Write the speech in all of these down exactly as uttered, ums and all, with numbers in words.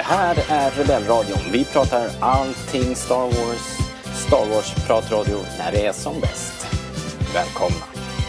här är Rebellradion. Vi pratar allting Star Wars. Star Wars-pratradio när det är som bäst. Välkomna.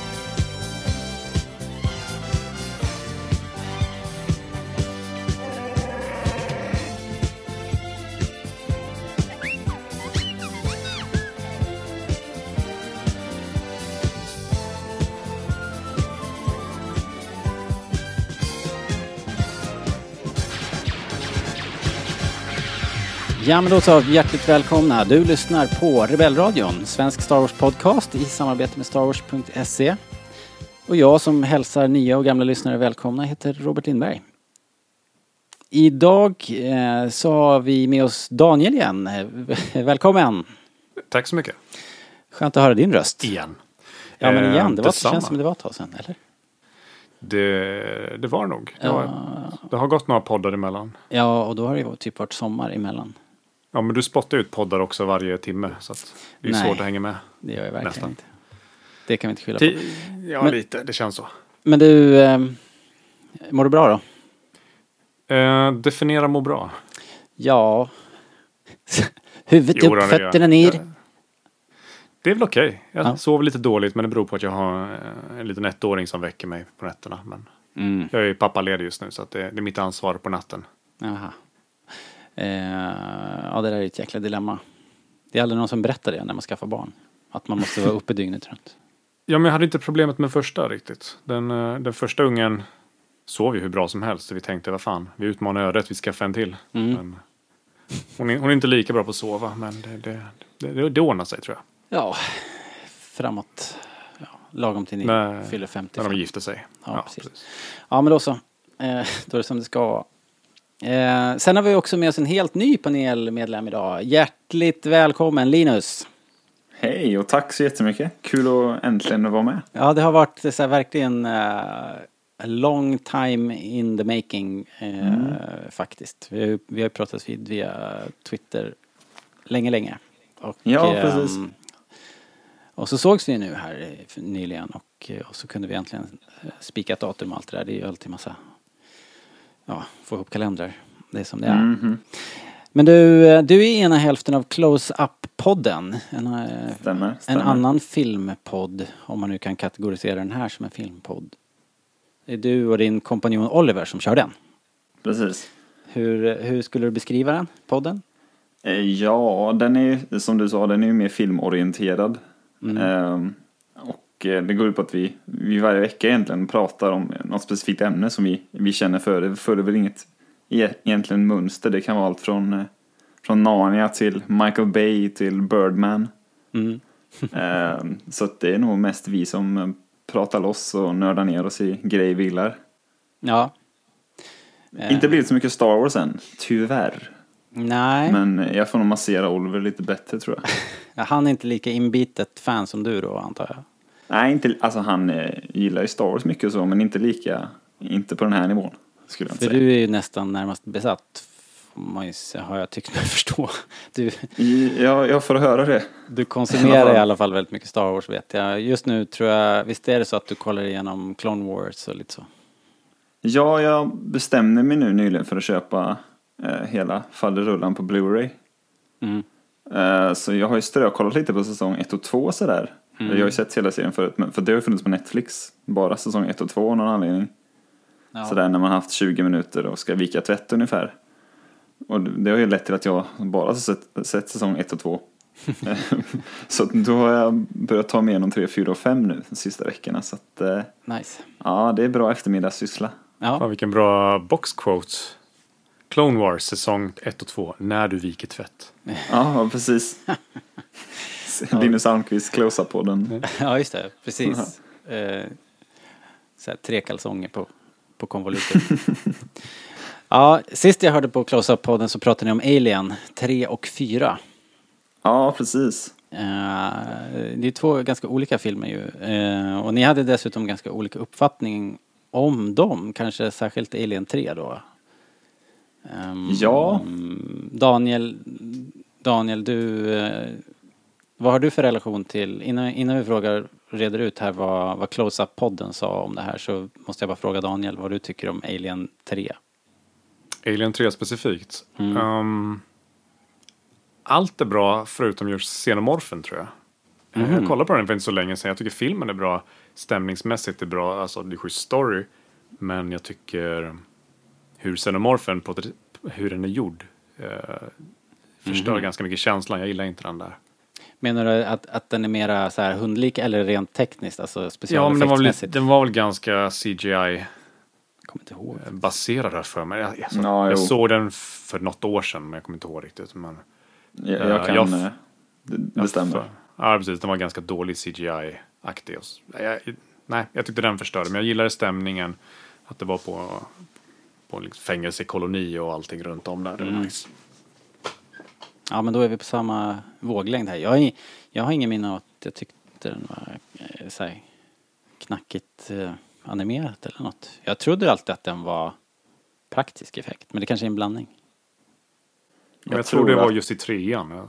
Ja, men då så, hjärtligt välkomna. Du lyssnar på Rebellradion, svensk Star Wars podcast i samarbete med Star Wars punkt se. Och jag som hälsar nya och gamla lyssnare välkomna heter Robert Lindberg. Idag eh, så har vi med oss Daniel igen. Välkommen. Tack så mycket. Skönt att höra din röst. Igen. Ja, men igen. Det, var, det Detsamma. känns som det var ett tag sedan, eller? Det, det var nog. Det, Ja. var, det har gått några poddar emellan. Ja, och då har det ju typ varit sommar emellan. Ja, men du spottar ut poddar också varje timme. Så att det är Nej. svårt att hänga med. Det gör jag verkligen Nästan. inte. Det kan vi inte skylla på. Ti- Ja, Men- lite. Det känns så. Men du, eh, mår du bra då? Eh, definiera må bra. Ja. Huvudet Jo, då, upp, det gör fötterna jag. ner. Eh, Det är väl okej. Jag Ja. sover lite dåligt, men det beror på att jag har eh, en liten ettåring som väcker mig på nätterna. Men Mm. jag är ju pappaledig just nu, så att det, det är mitt ansvar på natten. Jaha. Eh, ja, det där är ett jäkla dilemma. Det är aldrig någon som berättar det när man skaffar barn. Att man måste vara uppe dygnet runt. Ja, men jag hade inte problemet med första riktigt. Den, eh, den första ungen sov ju hur bra som helst. Så vi tänkte, vad fan, vi utmanar ödet, vi skaffar en till. Mm. Men hon, är, hon är inte lika bra på att sova, men det, det, det, det, det ordnar sig, tror jag. Ja, framåt. Ja, lagom till ni När- fyller femtio. När de gifter sig. Ja, precis. Ja, men då så. Eh, då är det som det ska vara. Eh, sen har vi också med oss en helt ny panelmedlem idag. Hjärtligt välkommen, Linus. Hej och tack så jättemycket. Kul att äntligen vara med. Ja, det har varit så här, verkligen uh, a long time in the making uh, Mm. faktiskt. Vi har ju vi har ju pratat vid via Twitter länge, länge. Och, Ja, ehm, precis. och så sågs vi nu här eh, nyligen och, eh, och så kunde vi äntligen eh, spika ett datum och allt det där. Det är ju alltid massa, ja, få ihop kalendrar. Det är som det är. Mhm. Men du, eh, du är ena hälften av Close-Up-podden. En, eh, Stämmer, en stämmer. annan filmpodd, om man nu kan kategorisera den här som en filmpodd. Det är du och din kompanjon Oliver som kör den. Precis. Hur, hur skulle du beskriva den, podden? Eh, Ja, den är ju, som du sa, den är ju mer filmorienterad. Mm. Ehm, och eh, det går ut på att vi, vi varje vecka egentligen pratar om något specifikt ämne som vi, vi känner för. Det följer väl inget e- egentligen mönster. Det kan vara allt från, eh, från Narnia till Michael Bay till Birdman. Mm. Ehm, så att det är nog mest vi som eh, pratar loss och nördar ner oss i grejer vi gillar. Ja. Eh, Inte blivit så mycket Star Wars än, tyvärr. Nej, Men jag får nog massera Oliver lite bättre, tror jag. han är inte lika inbitet fan som du då, antar jag. Nej, inte, alltså han eh, gillar ju Star Wars mycket och så, men inte lika, inte på den här nivån, skulle jag inte För säga. du är ju nästan närmast besatt, får man ju se- har jag tyckt mig förstå. Du, I, ja, jag får höra det. du konsumerar i alla fall väldigt mycket Star Wars, vet jag. Just nu tror jag, visst är det så att du kollar igenom Clone Wars och lite så? Ja, jag bestämde mig nu nyligen för att köpa eh, hela fallerullan på Blu-ray. Mm. Eh, så jag har ju strökollat lite på säsong ett och två sådär. Mm. Jag har ju sett hela serien förut, men för det har ju funnits på Netflix. Bara säsong ett och två av någon anledning. Ja. Sådär när man har haft tjugo minuter och ska vika tvätt ungefär. Och det har ju lett till att jag bara har sett, sett säsong ett och två. Så då har jag börjat ta med igenom tre, fyra och fem nu de sista veckorna. Så att, eh, Nice. ja, det är bra eftermiddagssyssla. Ja. Fan, vilken bra boxquote. Clone Wars säsong ett och två. När du viker tvätt. Ja, precis. Linus Almqvist close-up på den. Ja, just det. Precis. Eh, så här, tre kalsonger på, på konvolutet. Ja, sist jag hörde på Close-Up-podden så pratade ni om Alien tre och fyra. Ja, precis. Eh, det är två ganska olika filmer ju. Eh, och ni hade dessutom ganska olika uppfattning om dem. Kanske särskilt Alien tre då. Ehm, Ja. Daniel, Daniel, du... Eh, vad har du för relation till... Innan, innan vi frågar, reder ut här vad, vad Close-Up-podden sa om det här, så måste jag bara fråga Daniel vad du tycker om Alien tre. Alien tre specifikt. Mm. Um, allt är bra förutom just xenomorfen, tror jag. Mm. Jag kollade på den för inte så länge sedan. Jag tycker filmen är bra. Stämningsmässigt är bra. Alltså det är schysst story. Men jag tycker hur xenomorfen, på hur den är gjord, eh, förstör Mm. ganska mycket känslan. Jag gillar inte den där. Menar du att, att den är mera så här hundlik eller rent tekniskt? Alltså Ja, men den var, väl, specialeffektsmässigt? den var väl ganska C G I Kommer inte ihåg. baserad här för mig. Jag, alltså, Ja, jag jo. såg den för något år sedan, men jag kommer inte ihåg riktigt. Men, Jag, Eh, jag kan... jag- eh, det, det stämmer. ja, precis. Den var ganska dålig C G I-aktig. och s- Jag, nej, jag tyckte den förstörde. Men jag gillade stämningen. Att det var på, på en liksom fängelsekoloni och allting runt om där. Det var Mm. nice. Ja, men då är vi på samma våglängd här. Jag, har ing- jag har ingen minne av att jag tyckte den var eh, så här, knackigt eh, animerat eller något. Jag trodde alltid att den var praktisk effekt, men det kanske är en blandning. Men jag, Jag tror det tror var att- just i trean. Ja.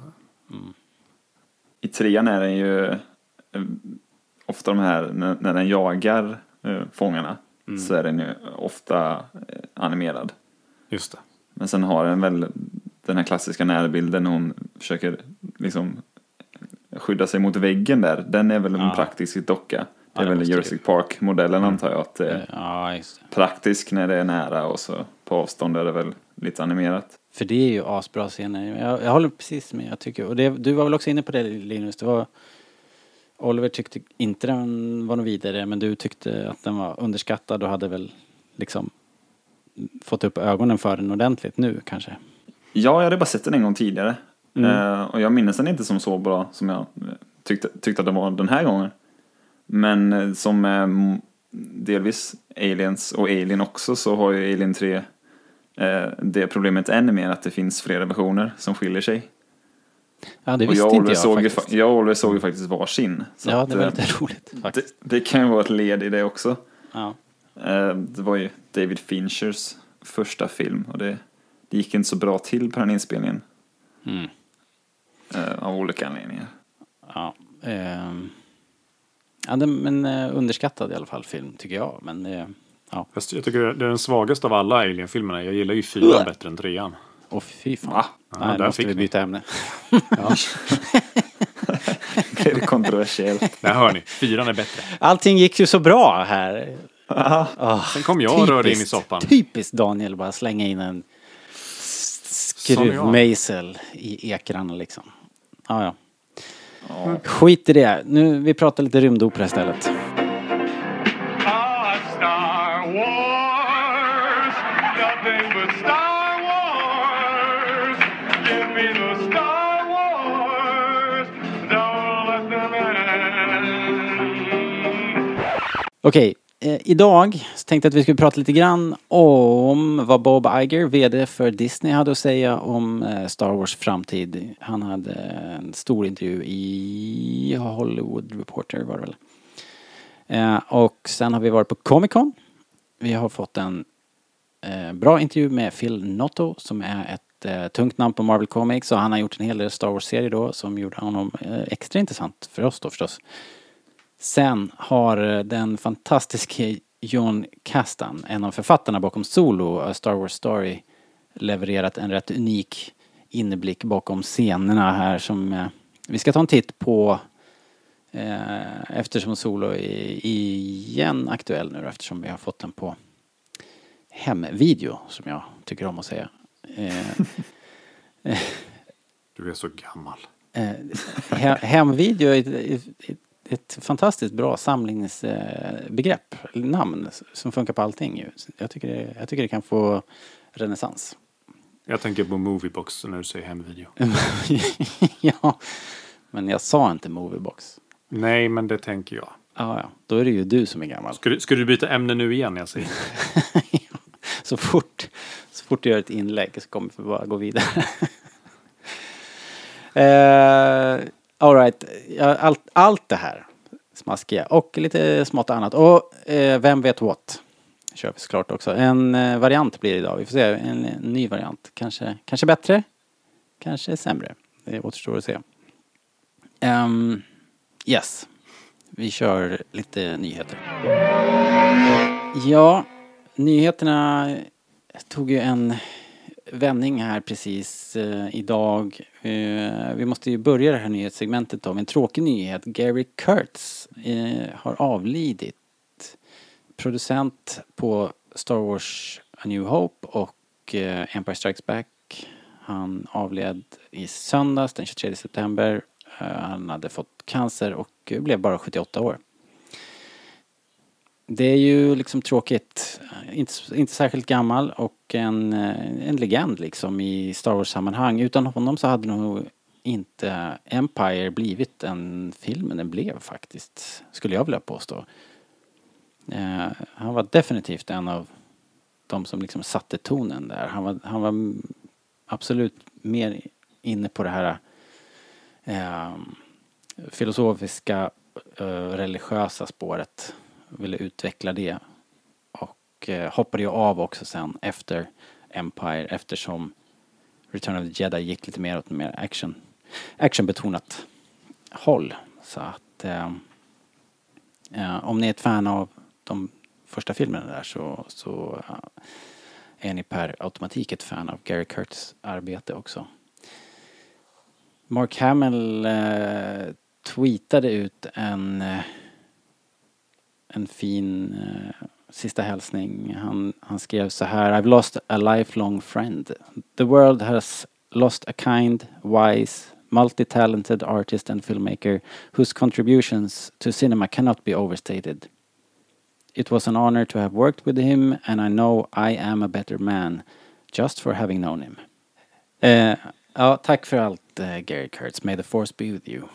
I trean är den ju eh, ofta de här, när, när den jagar eh, fångarna, Mm. så är den ju ofta eh, animerad. Just det. Men sen har den väl den här klassiska närbilden när hon försöker liksom skydda sig mot väggen där. Den är väl en Ja. praktisk docka. Det Ja, är det väl måste Jurassic Park-modellen Mm. antar jag. Att det är Ja, just det. praktisk när det är nära och så på avstånd är det väl lite animerat. För det är ju asbra scener. Jag, jag håller precis med, jag tycker. Och det, du var väl också inne på det, Linus. Det var, Oliver tyckte inte den var något vidare, men du tyckte att den var underskattad och hade väl liksom fått upp ögonen för den ordentligt nu kanske. Ja, jag hade bara sett den en gång tidigare. Mm. Eh, och jag minns den inte som så bra som jag eh, tyckte, tyckte att den var den här gången. Men eh, som eh, delvis Aliens och Alien också, så har ju Alien tre eh, det problemet ännu mer att det finns flera versioner som skiljer sig. Ja, det Och visste jag och inte Oliver jag såg, ju, faktiskt. fa- jag och Oliver såg ju faktiskt varsin. Så Ja, att, det var eh, lite roligt det, faktiskt. det kan ju vara ett led i det också. Ja. Eh, det var ju David Finchers första film och det, det gick inte så bra till på den inspelningen. Mm. Eh, av olika anledningar. Ja, ehm. ja den, men eh, underskattad i alla fall film tycker jag. Men eh, ja, Fast jag tycker det är den svagaste av alla Alien-filmerna. Jag gillar ju fyran bättre än trean. och fy fan. Va? Ja, Nej, där måste fick vi ni. byta ämne. Ja. Det är kontroversiellt. Där hör ni. Fyran är bättre. Allting gick ju så bra här. Ah, Sen kom jag och rörde in i typiskt- soppan. Typiskt Daniel, bara slänga in en s- skruvmejsel i ekrarna liksom. Ah, ja. Ja. Skit i det. Nu, vi pratar lite rymdopera istället. Ah, Star Wars, nothing but Star Wars. Give me the Star Wars, don't let them end. Okej, eh, idag så tänkte jag att vi skulle prata lite grann om vad Bob Iger, vd för Disney, hade att säga om eh, Star Wars framtid. Han hade en stor intervju i Hollywood Reporter var det väl. Eh, och sen har vi varit på Comic Con. Vi har fått en eh, bra intervju med Phil Noto som är ett eh, tungt namn på Marvel Comics, och han har gjort en hel del Star Wars-serier då som gjorde honom eh, extra intressant för oss då förstås. Sen har eh, den fantastiska John Kasdan, en av författarna bakom Solo, A Star Wars Story, levererat en rätt unik inblick bakom scenerna här som eh, vi ska ta en titt på eh, eftersom Solo är igen aktuell nu, eftersom vi har fått den på hemvideo, som jag tycker om att säga. Eh, Du är så gammal. eh, he- hemvideo är ett, ett, ett, ett fantastiskt bra samlingsbegrepp, eh, namn som funkar på allting ju. Jag tycker det, jag tycker det kan få renässans. Jag tänker på Moviebox när du säger hemvideo. Ja, men jag sa inte Moviebox. Nej, men det tänker jag. Ja, ja, då är det ju du som är gammal. Ska du, ska du byta ämne nu igen? Jag säger. så fort så fort du gör ett inlägg så kommer vi bara gå vidare. uh, all right. Ja, allt, allt det här smaskiga och lite smått annat. Och uh, vem vet what? Kör vi såklart också. En uh, variant blir det idag. Vi får se. En, en ny variant. Kanske, kanske bättre. Kanske sämre. Det återstår att se. Um, yes. Vi kör lite nyheter. Ja, nyheterna tog ju en vändning här precis eh, idag. Eh, vi måste ju börja det här nyhetssegmentet då med en tråkig nyhet. Gary Kurtz eh, har avlidit. Producent på Star Wars A New Hope och eh, Empire Strikes Back. Han avled i söndags den tjugotredje september. Eh, han hade fått cancer och blev bara sjuttioåtta år. Det är ju liksom tråkigt. Inte, inte särskilt gammal och en, en legend liksom i Star Wars-sammanhang. Utan honom så hade nog inte Empire blivit en film, men den blev faktiskt, skulle jag vilja påstå. Eh, han var definitivt en av de som liksom satte tonen där. Han var, han var absolut mer inne på det här eh, filosofiska, eh, religiösa spåret. Ville utveckla det. Och eh, hoppade ju av också sen efter Empire, eftersom Return of the Jedi gick lite mer åt mer action, actionbetonat håll. Så att eh, eh, om ni är ett fan av de första filmerna där så, så eh, är ni per automatik ett fan av Gary Kurtz arbete också. Mark Hamill eh, tweetade ut en eh, en fin eh, sista hälsning. Han, han skrev så här: I've lost a lifelong friend. The world has lost a kind, wise, multi-talented artist and filmmaker whose contributions to cinema cannot be overstated. It was an honor to have worked with him and I know I am a better man just for having known him. Eh, ja, tack för allt eh, Gary Kurtz. May the force be with you.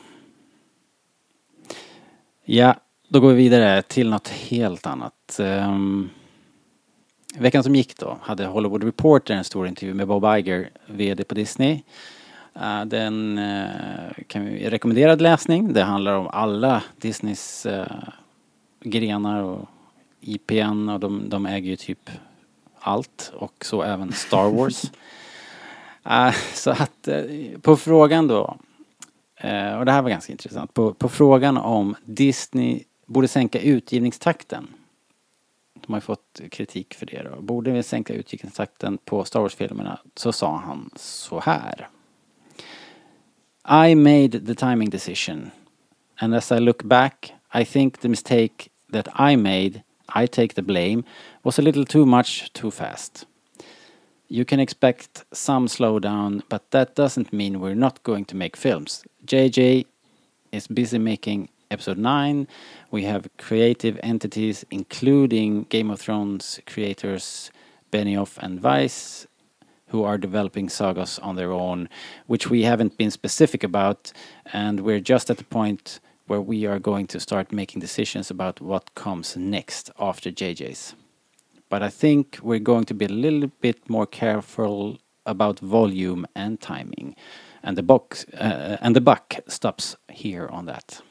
Ja, då går vi vidare till något helt annat. Um, veckan som gick då hade Hollywood Reporter en stor intervju med Bob Iger, vd på Disney. Uh, den uh, kan vi rekommenderad läsning. Det handlar om alla Disneys uh, grenar och I P N och de, de äger ju typ allt och så även Star Wars. uh, så att uh, på frågan då, uh, och det här var ganska intressant, på, på frågan om Disney borde sänka utgivningstakten. De har ju fått kritik för det då. Borde vi sänka utgivningstakten på Star Wars-filmerna, så sa han så här: I made the timing decision. And as I look back, I think the mistake that I made, I take the blame, was a little too much too fast. You can expect some slowdown, but that doesn't mean we're not going to make films. J J is busy making Episode nine. We have creative entities including Game of Thrones creators Benioff and Weiss who are developing sagas on their own, which we haven't been specific about, and we're just at the point where we are going to start making decisions about what comes next after J J's. But I think we're going to be a little bit more careful about volume and timing, and the box uh, and the buck stops here on that.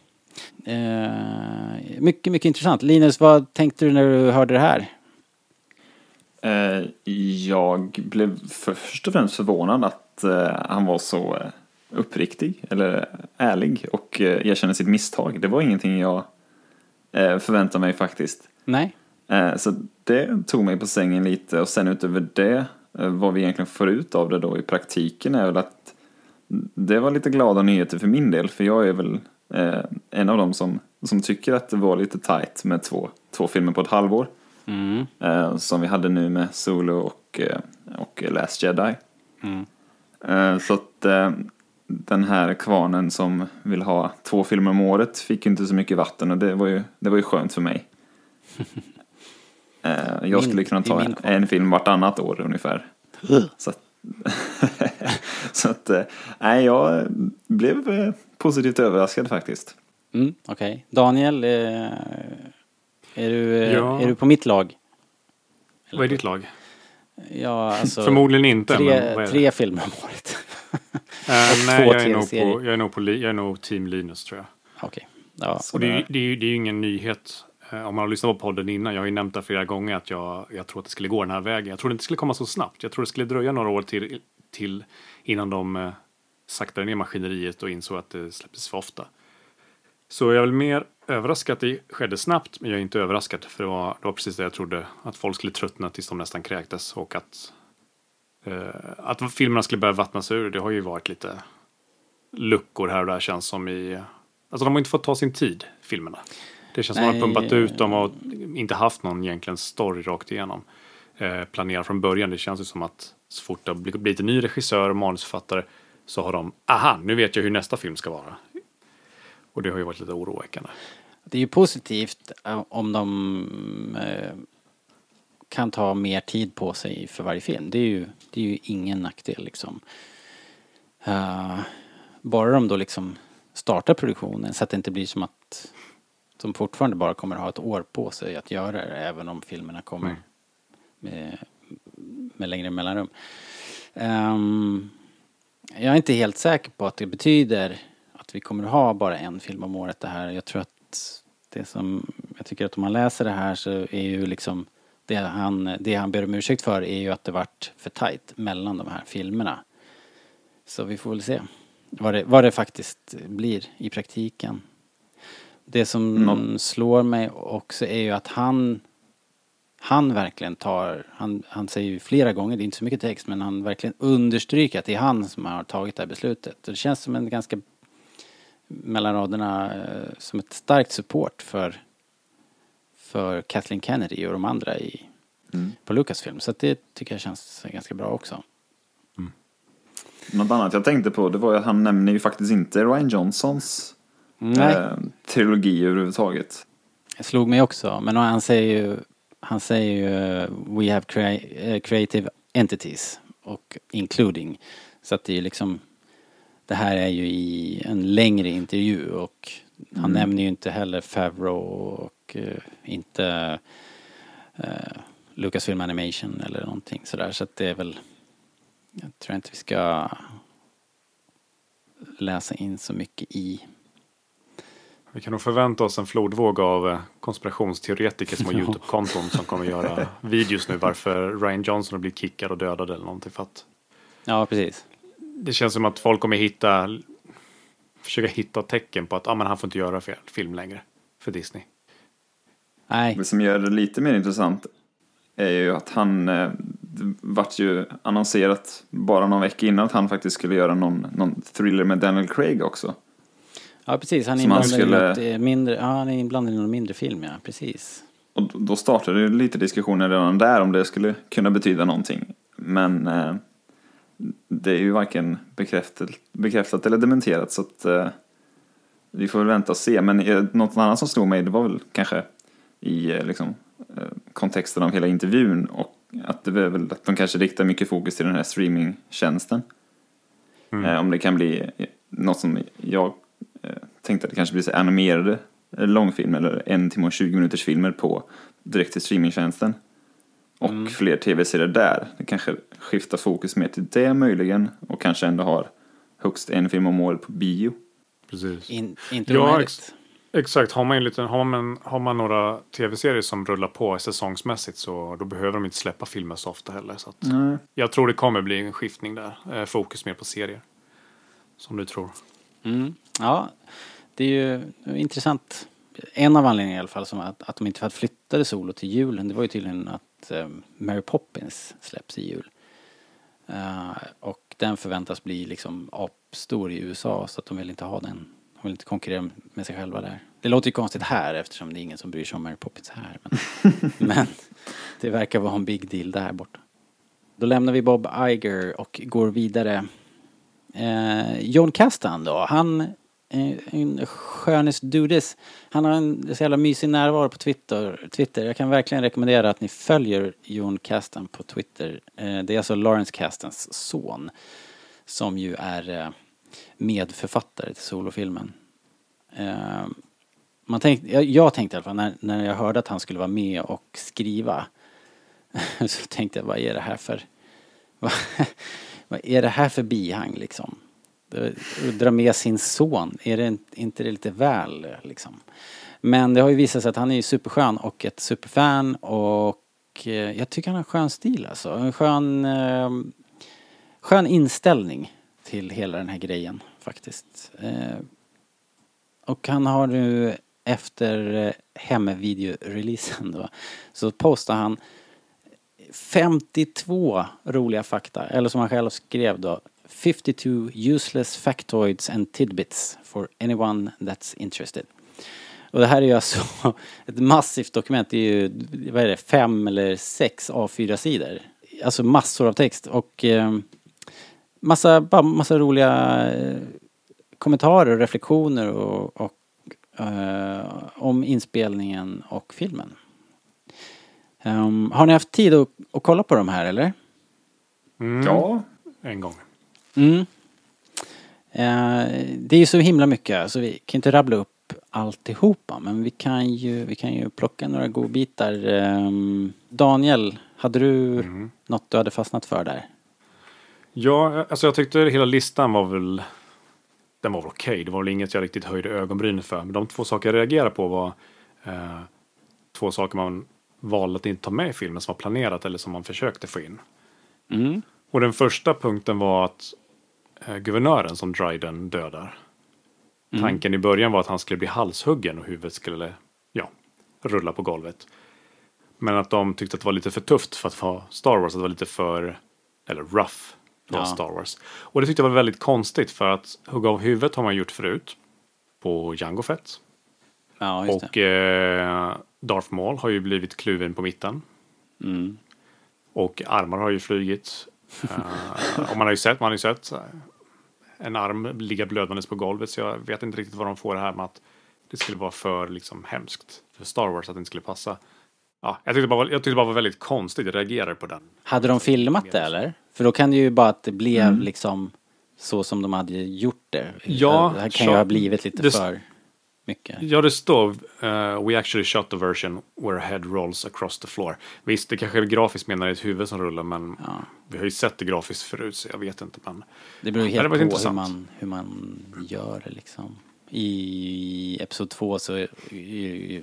Uh, mycket, mycket intressant. Linus, vad tänkte du när du hörde det här? Uh, jag blev först och främst förvånad att uh, han var så uh, uppriktig eller ärlig och uh, erkände sitt misstag. Det var ingenting jag uh, förväntade mig faktiskt. Nej. Uh, så det tog mig på sängen lite, och sen utöver det uh, vad vi egentligen får ut av det då i praktiken är väl att det var lite glada nyheter för min del, för jag är väl Eh, en av dem som, som tycker att det var lite tight med två, två filmer på ett halvår. Mm. Eh, som vi hade nu med Solo och, eh, och Last Jedi. Mm. Eh, så att eh, den här kvarnen som vill ha två filmer om året fick inte så mycket vatten, och det var ju, det var ju skönt för mig. eh, jag min, skulle kunna ta en, en film vartannat år ungefär. Så att så att, nej, jag blev positivt överraskad faktiskt. Mm, okej. Okay. Daniel, är du, ja. är du på mitt lag? Eller vad är ditt lag? Ja, alltså, förmodligen inte. Tre, men vad är tre filmer om året. uh, nej, jag är, nog på, jag, är nog på, jag är nog team Linus, tror jag. Okej. Okay. Ja, och det är, det, är, det är ju ingen nyhet. Om man har lyssnat på podden innan, jag har ju nämnt det flera gånger att jag, jag tror att det skulle gå den här vägen. Jag tror det inte skulle komma så snabbt. Jag tror det skulle dröja några år till, till innan de eh, saktade ner maskineriet och insåg att det släpptes för ofta. Så jag är väl mer överraskad att det skedde snabbt, men jag är inte överraskad, för det var, det var precis det jag trodde, att folk skulle tröttna tills de nästan kräktes, och att Uh, att filmerna skulle börja vattnas ur, det har ju varit lite luckor här och där, känns som i... Alltså de har inte fått ta sin tid, filmerna. Det känns som att de har pumpat ut dem och inte haft någon egentligen story rakt igenom. Uh, planerat från början, det känns ju som att så fort det har blivit en ny regissör och manusförfattare så har de, aha, nu vet jag hur nästa film ska vara. Och det har ju varit lite oroväckande. Det är ju positivt om de eh, kan ta mer tid på sig för varje film. Det är ju, det är ju ingen nackdel liksom. Uh, bara de då liksom startar produktionen så att det inte blir som att de fortfarande bara kommer att ha ett år på sig att göra det, även om filmerna kommer mm. med, med längre mellanrum. Um, jag är inte helt säker på att det betyder att vi kommer att ha bara en film om året det här. Jag tror att det som, jag tycker att om man läser det här så är ju liksom det han, det han ber om ursäkt för är ju att det varit för tajt mellan de här filmerna. Så vi får väl se vad det, vad det faktiskt blir i praktiken. Det som mm. slår mig också är ju att han han verkligen tar, han, han säger ju flera gånger, det är inte så mycket text, men han verkligen understryker att det är han som har tagit det här beslutet. Det känns som en ganska mellan raderna som ett starkt support för för Kathleen Kennedy och de andra i mm. på Lucasfilm. Så att det tycker jag känns ganska bra också. Mm. Något annat jag tänkte på, det var att han nämner ju faktiskt inte Rian Johnsons eh, trilogi överhuvudtaget. Det slog mig också, men han säger ju han säger ju we have crea- creative entities och including, så att det är liksom, det här är ju i en längre intervju och han mm. nämner ju inte heller Favreau och uh, inte uh, Lucasfilm Animation eller någonting sådär, så att det är väl, jag tror inte vi ska läsa in så mycket i. Vi kan nog förvänta oss en flodvåg av konspirationsteoretiker som har YouTube-konton som kommer göra videos nu varför Rian Johnson har blivit kickad och dödad eller någonting, för att ja, precis. Det känns som att folk kommer hitta försöka hitta tecken på att ah, men han får inte göra fel film längre för Disney. Nej. Det som gör det lite mer intressant är ju att han eh, vart ju annonserat bara någon vecka innan att han faktiskt skulle göra någon, någon thriller med Daniel Craig också. Ja, precis. Han är inblandad skulle... i något mindre, ja, han är inblandad i någon mindre film, ja, precis. Och då startade det lite diskussioner redan där om det skulle kunna betyda någonting. Men eh, det är ju varken bekräftat, bekräftat eller dementerat, så att eh, vi får väl vänta och se. Men eh, något annat som slog mig, det var väl kanske i eh, liksom, eh, kontexten av hela intervjun, och att det var väl att de kanske riktar mycket fokus till den här streamingtjänsten. Mm. Eh, om det kan bli något som jag eh, tänkte att det kanske blir så animerade långfilmer eller en timme och tjugo minuters filmer på direkt till streamingtjänsten. Och mm. fler tv-serier där. Det kanske skiftar fokus mer till det möjligen. Och kanske ändå har högst en film om året på bio. Precis. In, inte ja, ex- exakt. Har man, en liten, har, man, har man några tv-serier som rullar på säsongsmässigt, så då behöver de inte släppa filmer så ofta heller. Så att mm. jag tror det kommer bli en skiftning där. Eh, fokus mer på serier. Som du tror. Mm. Ja, det är ju intressant. En av anledningarna i alla fall som att, att de inte flyttade Solo till julen, det var ju tydligen att um, Mary Poppins släpps i jul. Uh, och den förväntas bli liksom apstor i U S A, så att de vill inte ha den. De vill inte konkurrera med sig själva där. Det låter ju konstigt här eftersom det är ingen som bryr sig om Mary Poppins här. Men, men det verkar vara en big deal där borta. Då lämnar vi Bob Iger och går vidare. Uh, Jon Kasdan då, han en skönes dudes. Han har en så jävla mysig närvaro på Twitter. Twitter. Jag kan verkligen rekommendera att ni följer Jon Kasdan på Twitter. Det är alltså Lawrence Kastans son, som ju är medförfattare till solofilmen. Man tänkte, jag, jag tänkte i alla fall när, när jag hörde att han skulle vara med och skriva, så tänkte jag, vad är det här för vad, vad är det här för bihang liksom? Dra med sin son, är det inte det lite väl liksom? Men det har ju visat sig att han är ju superskön och ett superfan, och jag tycker han har en skön stil alltså. En skön, eh, skön inställning till hela den här grejen faktiskt. Eh, och han har nu efter hemvideoreleasen då, så postar han femtiotvå roliga fakta, eller som han själv skrev då, fifty-two useless factoids and tidbits for anyone that's interested. Och det här är ju alltså ett massivt dokument, det är ju, vad är det, fem eller sex A fyra sidor. Alltså massor av text och eh, massa, bara massa roliga eh, kommentarer och reflektioner och, och eh, om inspelningen och filmen. Um, har ni haft tid att, att kolla på de här, eller? Mm. Ja. En gång. Mm. Uh, det är ju så himla mycket så vi kan inte rabbla upp alltihopa, men vi kan ju, vi kan ju plocka några godbitar. Um, Daniel, hade du Mm. något du hade fastnat för där? Ja, alltså jag tyckte hela listan var väl, den var väl okej. Okay. Det var väl inget jag riktigt höjde ögonbrynen för. Men de två saker jag reagerade på var eh, två saker man valde att inte ta med i filmen som var planerat eller som man försökte få in. Mm. Och den första punkten var att eh, guvernören som Dryden dödar. Mm. Tanken i början var att han skulle bli halshuggen och huvudet skulle, ja, rulla på golvet. Men att de tyckte att det var lite för tufft för att vara Star Wars. Att det var lite för, eller rough för Ja. Star Wars. Och det tyckte jag var väldigt konstigt för att hugga av huvudet har man gjort förut. På Jango Fett. Ja, just Och eh, Darth Maul har ju blivit kluven på mitten. det. Mm. Och armar har ju flugit. Uh, och man har ju sett, man har ju sett en arm ligga blödandes på golvet. Så jag vet inte riktigt vad de får det här med att det skulle vara för liksom hemskt för Star Wars att det inte skulle passa. Ja, jag tyckte bara, jag tyckte det bara var väldigt konstigt. Jag reagerade på den. Hade de filmat det, eller? För då kan det ju bara att det blev liksom så som de hade gjort det. Ja, det här kan så- ju ha blivit lite det- för mycket. Ja, det står uh, we actually shot the version where a head rolls across the floor. Visst, det kanske är grafiskt menar det är ett huvud som rullar, men Ja. vi har ju sett det grafiskt förut så jag vet inte. Men Det beror ju Ja, helt det var på hur intressant. man, hur man gör det liksom. I episod två så är är ju...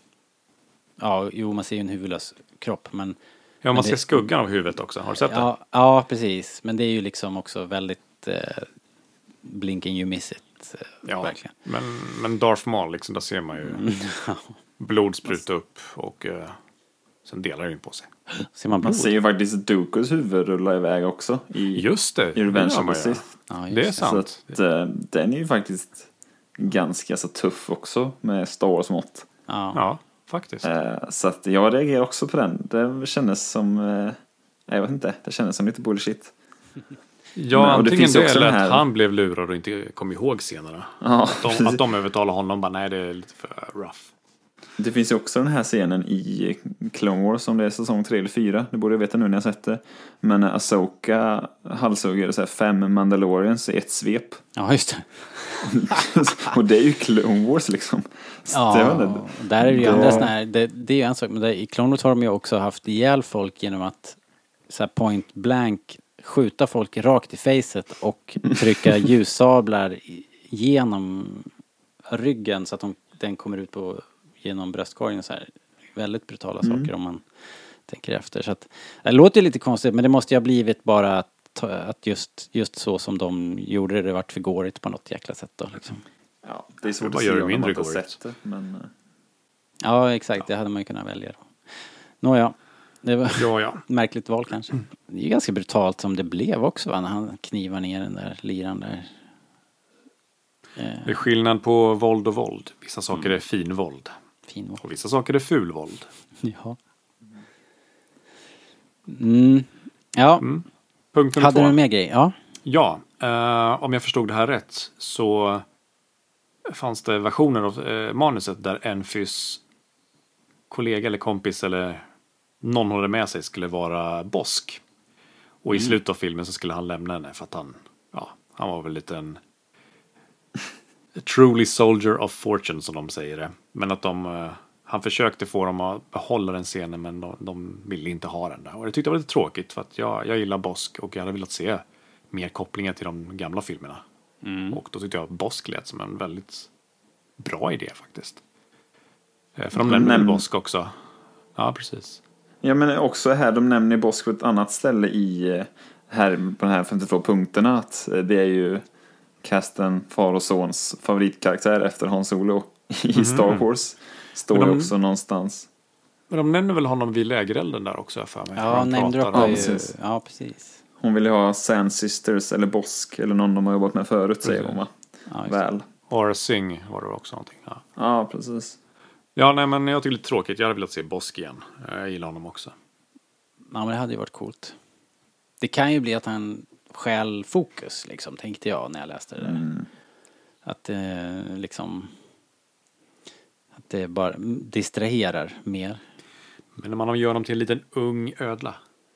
Ja, jo, man ser ju en huvudlös kropp, men... ja, man Men ser det- skuggan av huvudet också. Har du sett det? Ja, ja, precis. Men det är ju liksom också väldigt eh, blinking you miss it. Eh, Ja, Verkligen. men, men Darth Maul, liksom, där ser man ju blod spruta upp och uh, sen delar det ju på sig. Ser man Man blod? ser ju faktiskt Dookus huvud rulla iväg också i, Just det, i Revenge det gör of man the ju. Sith. Ja, just Det är det. Så sant. att, eh, den är ju faktiskt ganska så tuff också med Star Wars mått. Ja. Ja, faktiskt. Eh, så att jag reagerar också på den. Det kändes som, eh, jag vet inte, det kändes som lite bullshit. Ja, men- och det antingen finns ju det också eller den här- att han blev lurad och inte kom ihåg senare. Ja, Att de, precis. att de övertalar honom bara, nej det är lite för rough. Det finns ju också den här scenen i Clone Wars som det är säsong tre eller fyra. Det borde jag veta nu när jag sett det. Men Ahsoka halshugger så här fem Mandalorians i ett svep. Ja, just det. Och det är ju Clone Wars liksom. Så det var Ja, det. där är det ju det- andra såna här, det, det är ju en sak, men där, i Clone Wars har de ju också haft ihjäl folk genom att så här point blank skjuta folk rakt i facet och trycka ljussablar i- genom ryggen så att de, den kommer ut på genom bröstkorgen så här. Väldigt brutala saker om man tänker efter. Så att, det låter ju lite konstigt, men det måste ju ha blivit bara att, ta- att just, just så som de gjorde det, det vart för gårigt på något jäkla sätt då liksom. Ja, det är svårt bara att gör se det om man mindre inte har gårigt. sett det. Men, eh, Ja, exakt. Det hade man ju kunnat välja då. Nåja, det var Ja, ja. ett märkligt val kanske. Det är ju ganska brutalt som det blev också, va? När han knivar ner den där liran där. Det är skillnad på våld och våld. Vissa saker är fin våld. Fin val. Och vissa saker är ful våld. Ja. Mm. Ja, Punkt nummer hade två. du en mer grej? Ja. Ja, eh, om jag förstod det här rätt så fanns det versioner av eh, manuset där Enfys kollega eller kompis eller någon håller med sig skulle vara Bosk. Och i slutet av filmen så skulle han lämna henne för att han, ja, han var väl lite en a truly soldier of fortune som de säger det. Men att de, eh, han försökte få dem att behålla den scenen men de, de ville inte ha den där. Och det tyckte jag var lite tråkigt för att jag, jag gillar Bosk och jag hade velat se mer kopplingar till de gamla filmerna. Och då tyckte jag Bosk lät som en väldigt bra idé faktiskt. Eh, För de nämner väl nämn- Bosk också. Ja, precis. ja, men också här, de nämner Bosk på ett annat ställe i eh, här på de här femtiotvå punkterna att eh, det är ju casten far och sons favoritkaraktär efter Han Solo i Star Wars. Står Men det de- också någonstans. Men de nämner väl honom vid lägerelden där också för mig. Ja, De name pratar droppar om- ju. precis. Ja, precis. Hon vill ju ha Sand Sisters eller Bosk eller någon de har jobbat med förut, säger Precis. hon va? Ja, just det. Väl. Aura Singh var det också någonting. Ja. Ja, precis. ja, nej men jag tycker det är lite tråkigt. Jag hade velat se Bosk igen. Jag gillar honom också. Ja, men det hade ju varit coolt. Det kan ju bli att han stjäl fokus, liksom, tänkte jag när jag läste det där. Mm. Att det liksom... Att det bara distraherar mer. Men när man gör honom till en liten ung ödla.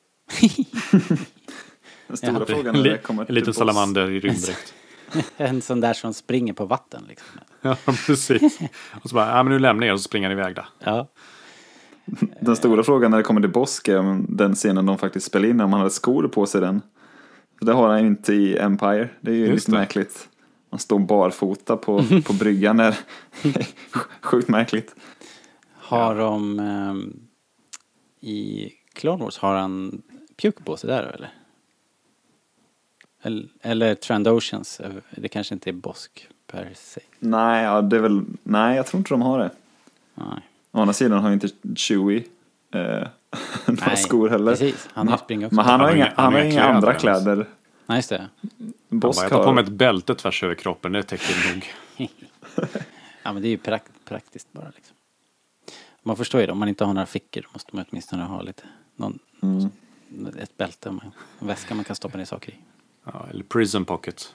Den stora Ja. frågan En, när det li- kommer en till liten Bosk. salamander i rymddräkt. En sån där som springer på vatten, liksom. Ja, precis. Och så bara, ja men nu lämnar jag och så springer han iväg där. Ja. Den stora frågan när det kommer till Bosk är om den scenen de faktiskt spelar in, om han hade skor på sig den. För det har han ju inte i Empire. Det är ju Just lite det. märkligt. Han står barfota på, på bryggan där. Sjukt märkligt. Har de... ehm, I Clone Wars har han pjuck på sig där, eller? Eller, eller Trandoshans. Det kanske inte är Bosk per se. Nej, ja, det är väl... Nej, jag tror inte de har det. Nej. Å andra sidan har ju inte Chewie eh, några Nej, skor heller. precis. Han har ju springa också. Men han har har inga, inga- han han har har inga inga andra kläder kläder. Nej, just det. Han Bosk bara, jag tar på har... mig ett bälte tvärs över kroppen, det täcker nog. Ja, men det är ju prakt, praktiskt bara, liksom. Man förstår ju det. Om man inte har några fickor måste man åtminstone ha lite... Någon, Mm. ett bälte, man, en väska man kan stoppa ner saker i. Ja, eller prison pocket.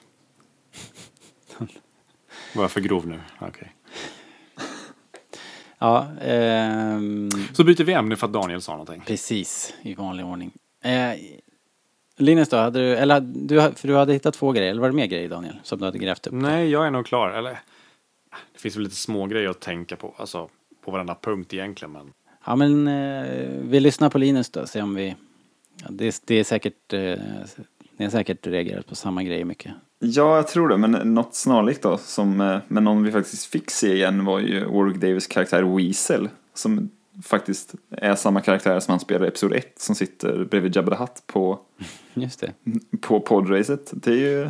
Var jag för grov nu? Okej. Ja, ehm, Så byter vi ämne för att Daniel sa någonting. precis. I vanlig ordning. Eh, Linus då, hade du, eller du, för du hade hittat två grejer, eller var det mer grejer, Daniel, som du hade grävt upp? Nej, jag är nog klar. Eller, det finns väl lite små grejer att tänka på. Alltså, på varenda punkt egentligen. Men Ja, men eh, vi lyssnar på Linus då, se om vi... Ja, det, det är säkert... Eh, ni har säkert reagerat på samma grejer mycket. Ja, jag tror det. Men något snarlikt då, som, eh, men någon vi faktiskt fick se igen var ju Warwick Davis karaktär Weasel. Som faktiskt är samma karaktär som han spelar i episod ett, som sitter bredvid Jabba the Hutt på, Just det. på podracet. Det är ju...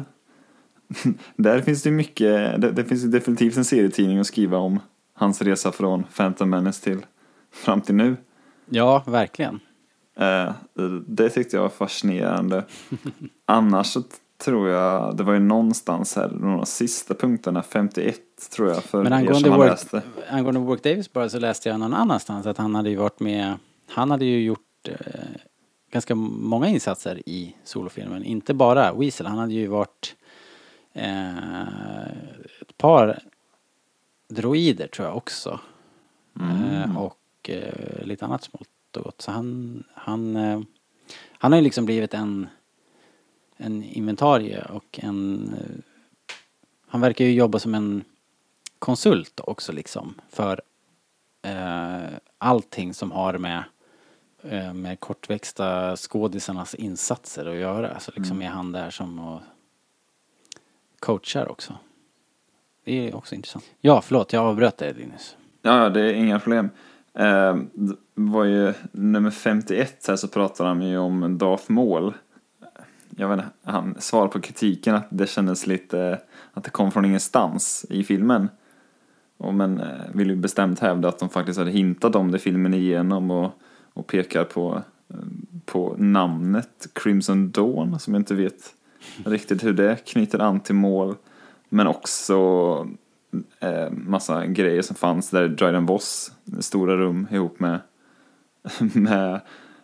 Där finns det mycket... Det, det finns ju definitivt en serietidning att skriva om hans resa från Phantom Menace till fram till nu. Ja, verkligen. Eh, det tyckte jag var fascinerande. Annars så tror jag, det var ju någonstans här, de sista punkterna, femtioett tror jag, för Men er angående som har Warwick, läst det. angående Warwick Davis bara, så läste jag någon annanstans att han hade ju varit med, han hade ju gjort eh, ganska många insatser i solofilmen. Inte bara Weasel, han hade ju varit eh, ett par droider tror jag också. Eh, och eh, lite annat smått och gott. Så han, han, eh, han har ju liksom blivit en en inventarie och en eh, han verkar ju jobba som en konsult också liksom för eh, allting som har med eh, med kortväxta skådisarnas insatser att göra. Så liksom är han där som och coachar också. Det är också intressant. Ja, förlåt, jag avbröt dig, Linus. Ja, ja, det är inga problem. Eh, det var ju nummer femtioett här, så pratar han ju om Darth Maul. Jag vet inte, han svarar på kritiken att det kändes lite att det kom från ingenstans i filmen. Och men eh, vill ju bestämt hävda att de faktiskt hade hintat om det filmen igenom och, och pekar på, eh, på namnet Crimson Dawn, som jag inte vet riktigt hur det knyter an till Maul. Men också eh, massa grejer som fanns där Dryden Voss, stora rum ihop med med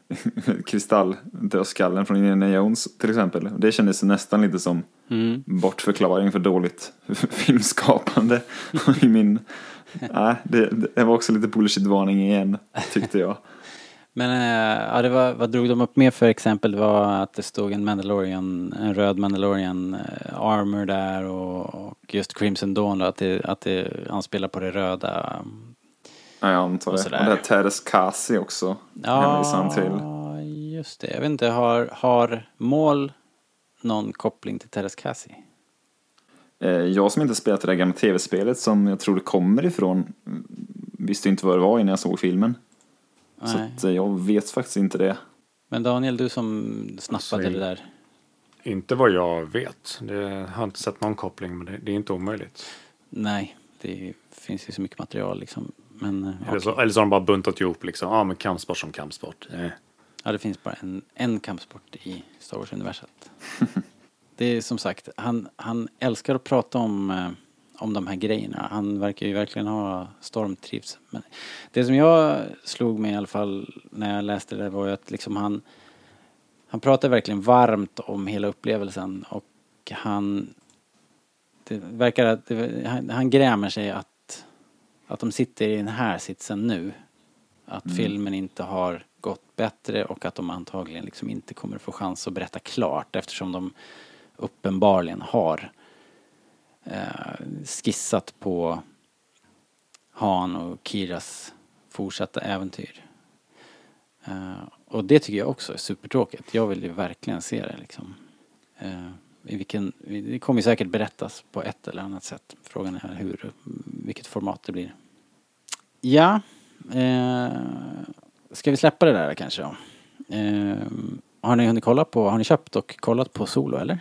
kristalldödskallen från Indiana Jones till exempel. Det kändes nästan lite som Mm. bortförklaring för dåligt filmskapande i min... Nej, det, det var också lite bullshit-varning igen, tyckte jag. Men äh, ja, det var, vad drog de upp med för exempel? Det var att det stod en Mandalorian, en röd Mandalorian äh, armor där och, och just Crimson Dawn då, att det, att det anspelar på det röda. Ja, jag antar Och det. Och sådär. det här Teres Kasi också hänvisar han till. Ja, just det. Jag vet inte, har, har Maul någon koppling till Teres Kasi? Eh, Jag som inte spelat det där gamla tv-spelet som jag tror det kommer ifrån mm, visste inte vad det var innan jag såg filmen. Så Nej. att, eh, jag vet faktiskt inte det. Men Daniel, du som snappade Alltså, det där. inte vad jag vet. Det jag har inte sett någon koppling, men det, det är inte omöjligt. Nej, det finns ju så mycket material liksom. Men, eh, Eller, så, okej. eller så har de bara buntat ihop liksom, ja men kampsport som kampsport. Eh. Ja, det finns bara en, en kampsport i Star Wars-universet. Det är som sagt, han, han älskar att prata om, eh, om de här grejerna. Han verkar ju verkligen ha stormtrivs. Men det som jag slog mig i alla fall när jag läste det var ju att liksom han, han pratar verkligen varmt om hela upplevelsen och han, det verkar att det, han, han grämer sig att, att de sitter i den här sitsen nu. Att mm. filmen inte har gått bättre och att de antagligen liksom inte kommer få chans att berätta klart eftersom de uppenbarligen har eh, skissat på Han och Kiras fortsatta äventyr. Eh, och det tycker jag också är supertråkigt. Jag vill ju verkligen se det liksom. Eh, i vilken, det kommer ju säkert berättas på ett eller annat sätt. Frågan är hur, vilket format det blir. Ja, eh, ska vi släppa det där kanske då? Eh, har ni hunnit kolla på, har ni köpt och kollat på Solo eller?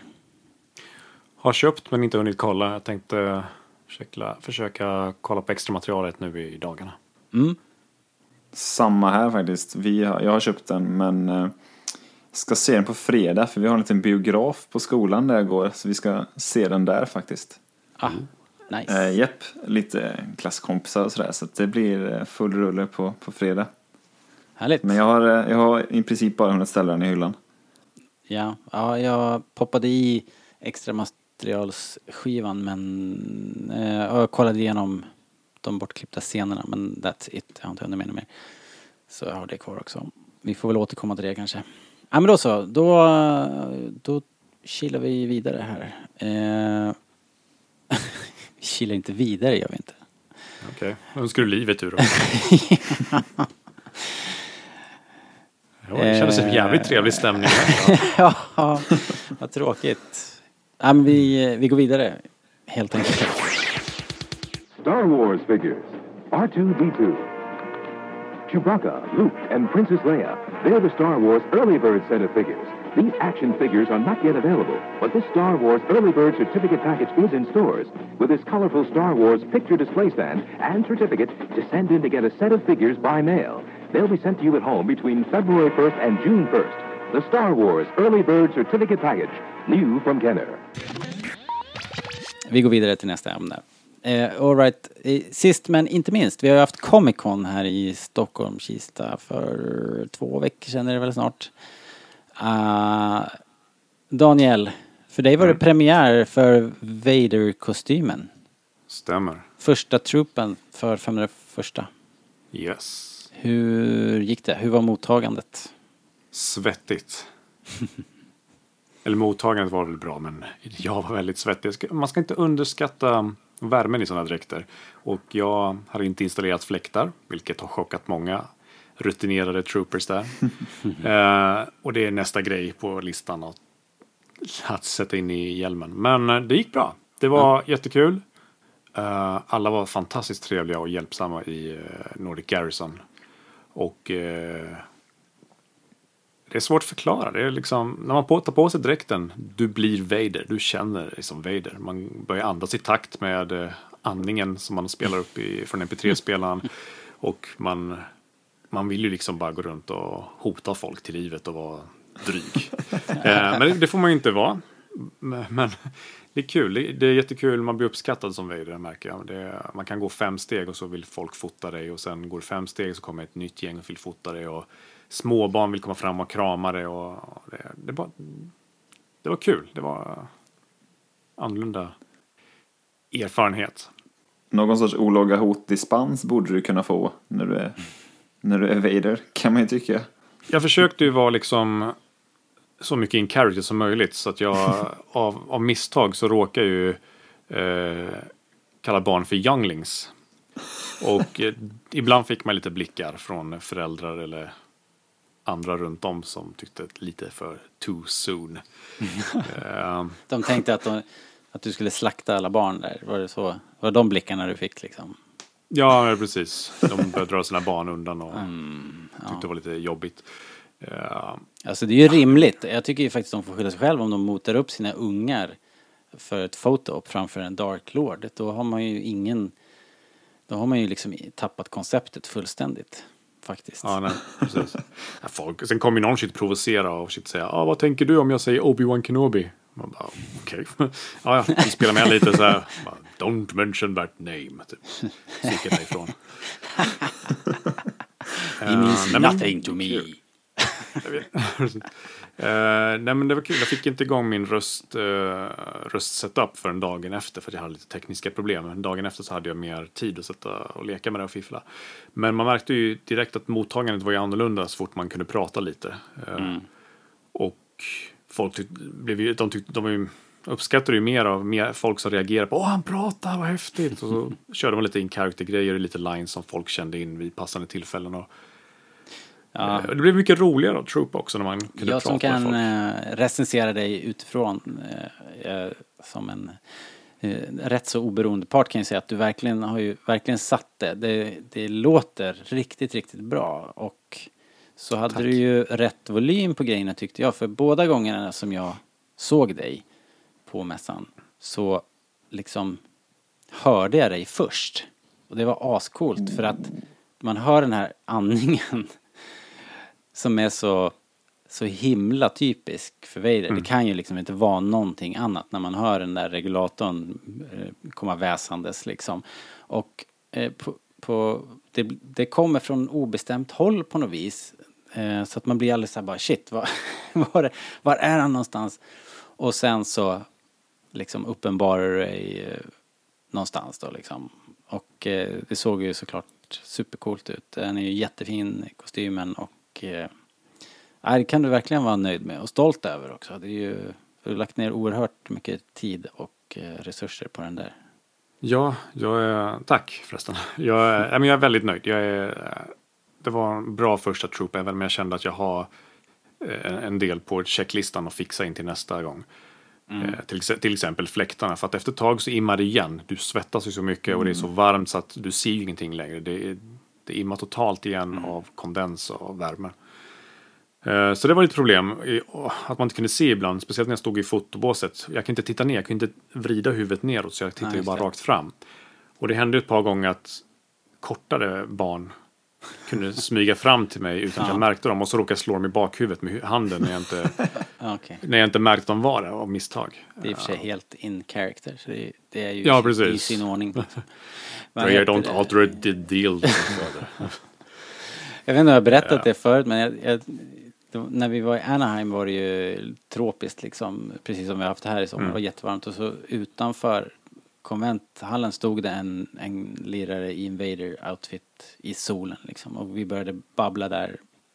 Har köpt men inte hunnit kolla. Jag tänkte försöka, försöka kolla på extra materialet nu i dagarna. Mm. Samma här faktiskt. Vi har, jag har köpt den men eh, ska se den på fredag för vi har en liten biograf på skolan där jag går. Så vi ska se den där faktiskt. Ah, nice. Eh, jepp, lite klasskompisar och sådär. Så att det blir full rulle på, på fredag. Härligt. Men jag har, jag har i princip bara hunnit ställa den i hyllan. Ja, ja, jag poppade i extra materialsskivan men eh, jag kollade igenom de bortklippta scenerna men that's it. Jag har inte hunnit med mer. Så jag har det kvar också. Vi får väl återkomma till det kanske. Ja men då så, då, då kilar vi vidare här. Eh, vi kilar inte vidare, gör vi inte. Okej, okay. Önskar du livet ur då? Ja, det kändes som en jävligt trevlig stämning här. Ja, vad tråkigt. Ja, men vi, vi går vidare, helt enkelt. Star Wars figures. R two D two. Chewbacca, Luke, and Princess Leia. They're the Star Wars Early Bird set of figures. These action figures are not yet available, but this Star Wars Early Bird certificate package is in stores with this colorful Star Wars picture display stand and certificate to send in to get a set of figures by mail. They'll be sent to you at home between February first and June first. The Star Wars Early Bird certificate package, new from Kenner. Vi går vidare till nästa ämne. Eh, all right. Eh, sist men inte minst, vi har ju haft Comic Con här i Stockholm, Kista, för två veckor sedan är det väl snart. Uh, Daniel, för dig var det premiär för Vader-kostymen. Stämmer. Första truppen för femhundraförsta. Yes. Hur gick det? Hur var mottagandet? Svettigt. Eller mottagandet var väl bra, men jag var väldigt svettig. Man ska inte underskatta värmen i sådana dräkter. Och jag har inte installerat fläktar, vilket har chockat många rutinerade troopers där. uh, och det är nästa grej på listan att, att sätta in i hjälmen. Men uh, det gick bra. Det var mm. jättekul. Uh, alla var fantastiskt trevliga och hjälpsamma i uh, Nordic Garrison. Och uh, det är svårt att förklara. Det är liksom, när man tar på sig dräkten, du blir Vader. Du känner dig som Vader. Man börjar andas i takt med uh, andningen som man spelar upp i, från M P tre-spelaren. Och man, man vill ju liksom bara gå runt och hota folk till livet och vara dryg. uh, men det, det får man ju inte vara. Men, men det är kul. Det, det är jättekul. Man blir uppskattad som Vader, märker jag. Det, man kan gå fem steg och så vill folk fota dig. Och sen går fem steg så kommer ett nytt gäng och vill fota dig. Och småbarn vill komma fram och krama dig. Och det, det, var, det var kul. Det var annorlunda erfarenhet. Någon sorts olaga hotdispens borde du kunna få när du är, när du är Vader, kan man ju tycka. Jag försökte ju vara liksom så mycket in character som möjligt, så att jag av, av misstag så råkar ju eh, kalla barn för younglings. Och eh, ibland fick man lite blickar från föräldrar eller andra runt om som tyckte lite för too soon. eh, De tänkte att, de, att du skulle slakta alla barn där. Var det så? Var det de blickarna du fick liksom? Ja, precis. De började dra sina barn undan och Mm, ja. tyckte det var lite jobbigt. Uh, Alltså det är ju rimligt. Jag tycker ju faktiskt de får skylla sig själv om de motar upp sina ungar för ett foto framför en Dark Lord. Då har man ju ingen... Då har man ju liksom tappat konceptet fullständigt. Faktiskt. Ja, nej, precis. Ja, folk, sen kommer ju någon shit provocera och shit säga, ah, vad tänker du om jag säger Obi-Wan Kenobi? Man bara, okej. Okay. ja, ja, vi spelar med lite så här, bara, don't mention that name. Typ. Sticker därifrån. He means uh, nothing men, to me. Uh, nej men det var kul, jag fick inte igång min röst, uh, röstsetup för en dagen efter för att jag hade lite tekniska problem. Men dagen efter så hade jag mer tid att sätta och leka med det och fiffla. Men man märkte ju direkt att mottagandet var ju annorlunda så fort man kunde prata lite. Uh, mm. Och folk tyck, blev ju, de, tyck, de ju, uppskattade ju mer av mer folk som reagerade på åh han pratar, vad häftigt. Och så körde man lite in-character-grejer och lite lines som folk kände in vid passande tillfällen och ja. Det blev mycket roligare av Troop också när man kunde jag prata som kan med folk. Recensera dig utifrån eh, som en eh, rätt så oberoende part kan jag säga att du verkligen har ju verkligen satt det. Det, det låter riktigt, riktigt bra och så hade Tack. Du ju rätt volym på grejerna tyckte jag för båda gångerna som jag såg dig på mässan så liksom hörde jag dig först och det var ascoolt för att man hör den här andningen som är så, så himla typisk för Vader. Mm. Det kan ju liksom inte vara någonting annat när man hör den där regulatorn eh, komma väsandes liksom. Och eh, på, på, det, det kommer från obestämt håll på något vis. Eh, så att man blir alldeles så här bara shit, var, var, var är han någonstans? Och sen så liksom uppenbarar det dig eh, någonstans då liksom. Och eh, det såg ju såklart supercoolt ut. Den är ju jättefin kostymen och eh, det kan du verkligen vara nöjd med och stolt över också. Det är ju, du har lagt ner oerhört mycket tid och eh, resurser på den där. Ja, jag är, tack förresten. Jag är, jag är väldigt nöjd. Jag är, det var en bra första Troop även men jag kände att jag har en del på checklistan att fixa in till nästa gång. Mm. Till, till exempel fläktarna. För att efter ett tag så immar det igen. Du svettas ju så mycket mm. och det är så varmt så att du ser ju ingenting längre. Det, det immar totalt igen mm. av kondens och värme. Uh, så det var lite problem. Att man inte kunde se ibland. Speciellt när jag stod i fotobåset. Jag kan inte titta ner. Jag kan inte vrida huvudet neråt. Så jag tittade ju bara rakt fram. Och det hände ett par gånger att kortare barn kunde smyga fram till mig utan att ja. Jag märkte dem. Och så råkade jag slå dem i bakhuvudet med handen när jag inte, okay. när jag inte märkte dem var det av misstag. Det är i och för sig helt in character. Så det, det är ju ja, precis. I sin ordning. Men I don't alter the deal. Jag vet inte om jag har berättat ja. Det förut. Men jag, jag, då, när vi var i Anaheim var det ju tropiskt liksom. Precis som vi har haft här i sommar. Mm. Det var jättevarmt. Och så utanför konventhallen stod det en, en lirare i Invader-outfit i solen liksom. Och vi började babbla där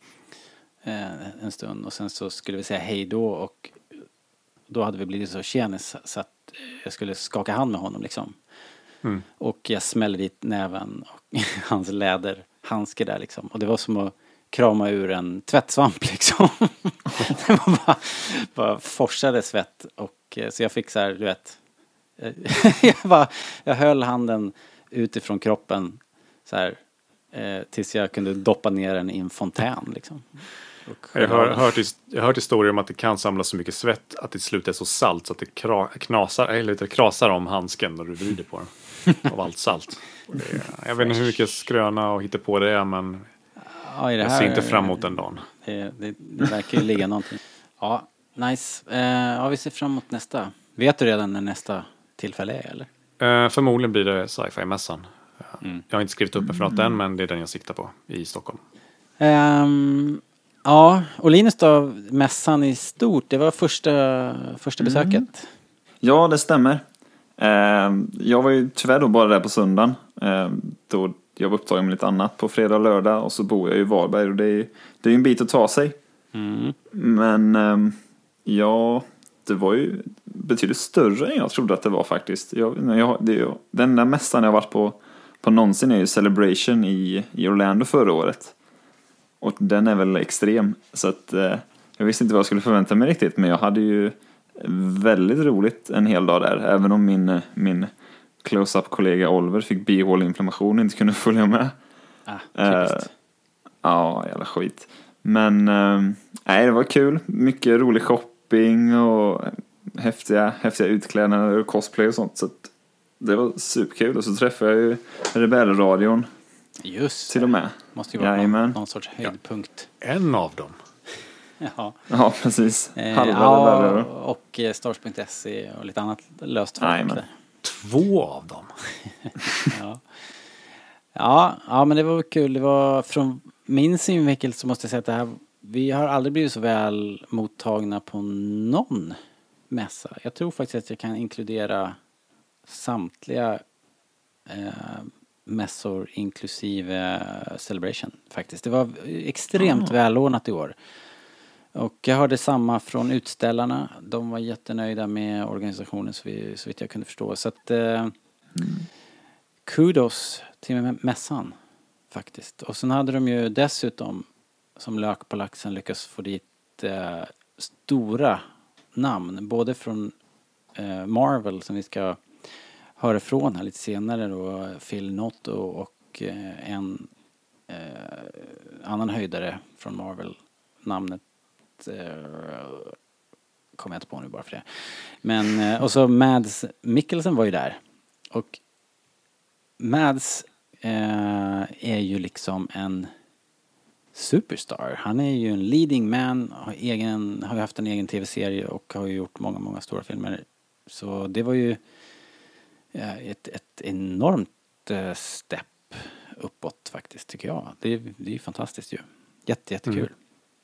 eh, en stund. Och sen så skulle vi säga hej då. Och då hade vi blivit så tjenis så att jag skulle skaka hand med honom liksom. Mm. Och jag smällde dit näven och hans läderhandske där liksom. Och det var som att krama ur en tvättsvamp liksom. Det var bara, bara forsade svett. Och så jag fick så här, du vet... jag, bara, jag höll handen utifrån kroppen så här, eh, tills jag kunde doppa ner den i en fontän liksom. Jag har hört, jag har hört historier om att det kan samlas så mycket svett att det till slut är så salt så att det kra, knasar, eller det krasar om handsken när du vrider på den av allt salt. Det, jag vet inte hur mycket skröna och hitta på det är men ja, det jag ser inte fram emot den dagen. Det, det, det verkar ju ligga någonting. Ja, nice. Eh, ja, vi ser fram emot nästa. Vet du redan när nästa tillfälle är eller? Uh, förmodligen blir det sci-fi-mässan. Uh, mm. Jag har inte skrivit upp mig för något än men det är den jag siktar på i Stockholm. Um, ja, och Linus då, mässan i stort, det var första, första mm. besöket. Ja, det stämmer. Uh, jag var ju tyvärr då bara där på söndagen. Uh, då jag var upptagen med lite annat på fredag och lördag och så bor jag i Varberg och det är, det är en bit att ta sig. Mm. Men um, ja... Det var ju betydligt större än jag trodde att det var faktiskt. Jag, jag, det, den där mässan jag varit på, på någonsin är ju Celebration i, i Orlando förra året. Och den är väl extrem. Så att eh, jag visste inte vad jag skulle förvänta mig riktigt. Men jag hade ju väldigt roligt en hel dag där. Även om min, min close-up-kollega Oliver fick bihåleinflammation och inte kunde följa med. Ah, typiskt. Eh, ja, jävla skit. Men eh, nej, det var kul. Mycket rolig shop och häftiga, häftiga utklädnader och cosplay och sånt. Så att Det var superkul. Och så träffade jag ju Rebellradion Just till och med. Måste ju vara någon, Jajamän. någon sorts höjdpunkt. En av dem. Ja. Ja, precis. Eh, Halva ja, Rebellradion. och eh, Stars punkt se och lite annat löst folk Jajamän. där. Två av dem. Ja. Ja, ja, men det var kul. Det var från min synvinkel så måste jag säga att det här, vi har aldrig blivit så väl mottagna på någon mässa. Jag tror faktiskt att jag kan inkludera samtliga eh, mässor inklusive Celebration faktiskt. Det var extremt Ah. välordnat i år. Och jag hörde samma från utställarna. De var jättenöjda med organisationen så, vi, så vitt jag kunde förstå. Så att eh, mm. kudos till mässan faktiskt. Och sen hade de ju dessutom som lök på laxen lyckats få dit eh, stora namn. Både från eh, Marvel som vi ska höra från här lite senare då. Phil Noto och eh, en eh, annan höjdare från Marvel. Namnet Uh, kommer jag inte på nu bara för det. Men, uh, och så Mads Mikkelsen var ju där. Och Mads uh, är ju liksom en superstar. Han är ju en leading man, har, egen, har ju haft en egen tv-serie och har ju gjort många, många stora filmer. Så det var ju uh, ett, ett enormt uh, step uppåt faktiskt tycker jag. Det, det är ju fantastiskt ju. Jätte, jättekul. Mm.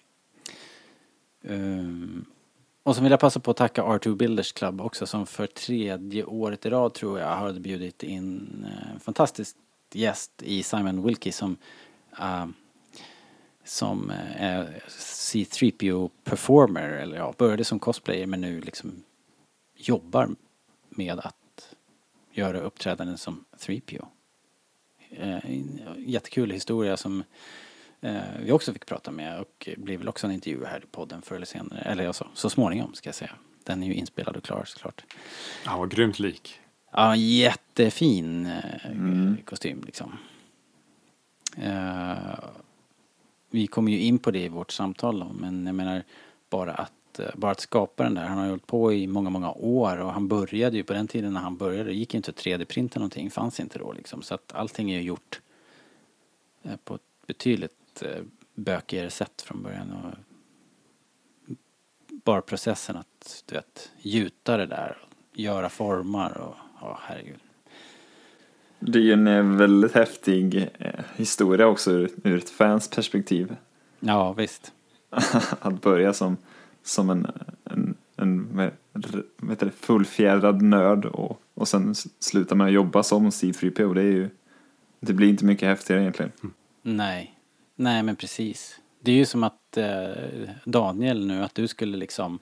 Um, och så vill jag passa på att tacka R två Builders Club också som för tredje året i rad tror jag har bjudit in en uh, fantastisk gäst i Simon Wilkie som uh, som uh, är C tre P O performer eller ja, började som cosplayer men nu liksom jobbar med att göra uppträdanden som tre P O. Uh, jättekul historia som Eh, vi också fick prata med och blir väl också en intervju här i podden förr eller senare. Eller alltså, så småningom ska jag säga. Den är ju inspelad och klar såklart. Han var grymt lik. Ja, jättefin eh, Mm. kostym liksom. Eh, vi kommer ju in på det i vårt samtal då, men jag menar bara att, eh, bara att skapa den där. Han har hållit på i många, många år och han började ju på den tiden när han började. Det gick ju inte att tre D-printa någonting, fanns inte då liksom. Så att allting är ju gjort eh, på ett betydligt bökigare sätt från början och bara processen att du vet, gjuta det där och göra formar och ja, herregud. Det är ju en väldigt häftig eh, historia också ur, ur ett fans perspektiv. Ja, visst. Att börja som, som en, en, en vad heter det, fullfjädrad nörd och, och sen sluta med att jobba som C tre P O. Det är ju, det blir inte mycket häftigare egentligen. Mm. Nej. Nej, men precis. Det är ju som att eh, Daniel nu, att du skulle liksom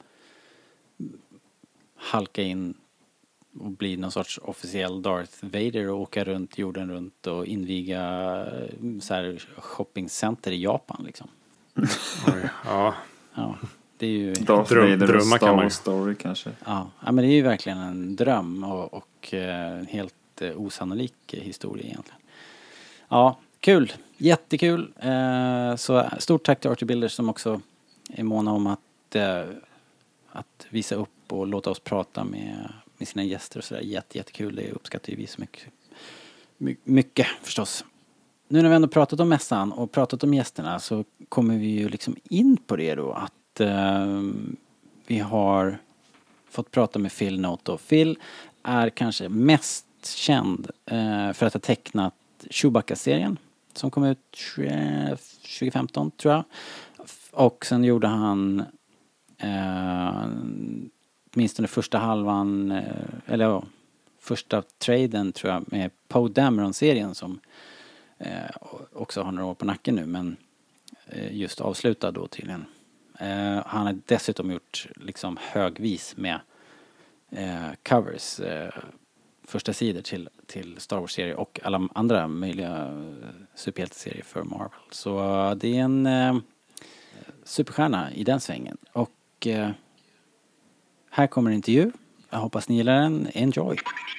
halka in och bli någon sorts officiell Darth Vader och åka runt jorden runt och inviga så här shoppingcenter i Japan liksom. Oj, ja. Ja, det är ju Darth Dröm, Vader och drömmar Star kan man ju. Wars Story kanske. ja, ja, men det är ju verkligen en dröm och, och eh, helt eh, osannolik historia egentligen. Ja, kul. Jättekul. Eh, så stort tack till R två Builders som också är måna om att, eh, att visa upp och låta oss prata med, med sina gäster och sådär. Jätte, jättekul. Det uppskattar vi så mycket. My, mycket förstås. Nu när vi ändå pratat om mässan och pratat om gästerna så kommer vi ju liksom in på det då att eh, vi har fått prata med Phil Noto. Phil är kanske mest känd eh, för att ha tecknat Chewbacca-serien som kom ut tjugo femton tror jag. Och sen gjorde han eh, åtminstone första halvan eh, eller ja, första traden tror jag med Poe Dameron-serien som eh, också har några år på nacken nu men eh, just avslutad då tydligen. Eh, han har dessutom gjort liksom högvis med eh, covers eh, första sidor till, till Star Wars-serier och alla andra möjliga superhjälteserier för Marvel. Så uh, det är en uh, superstjärna i den svängen. Och uh, här kommer en intervju. Jag hoppas ni gillar den. Enjoy!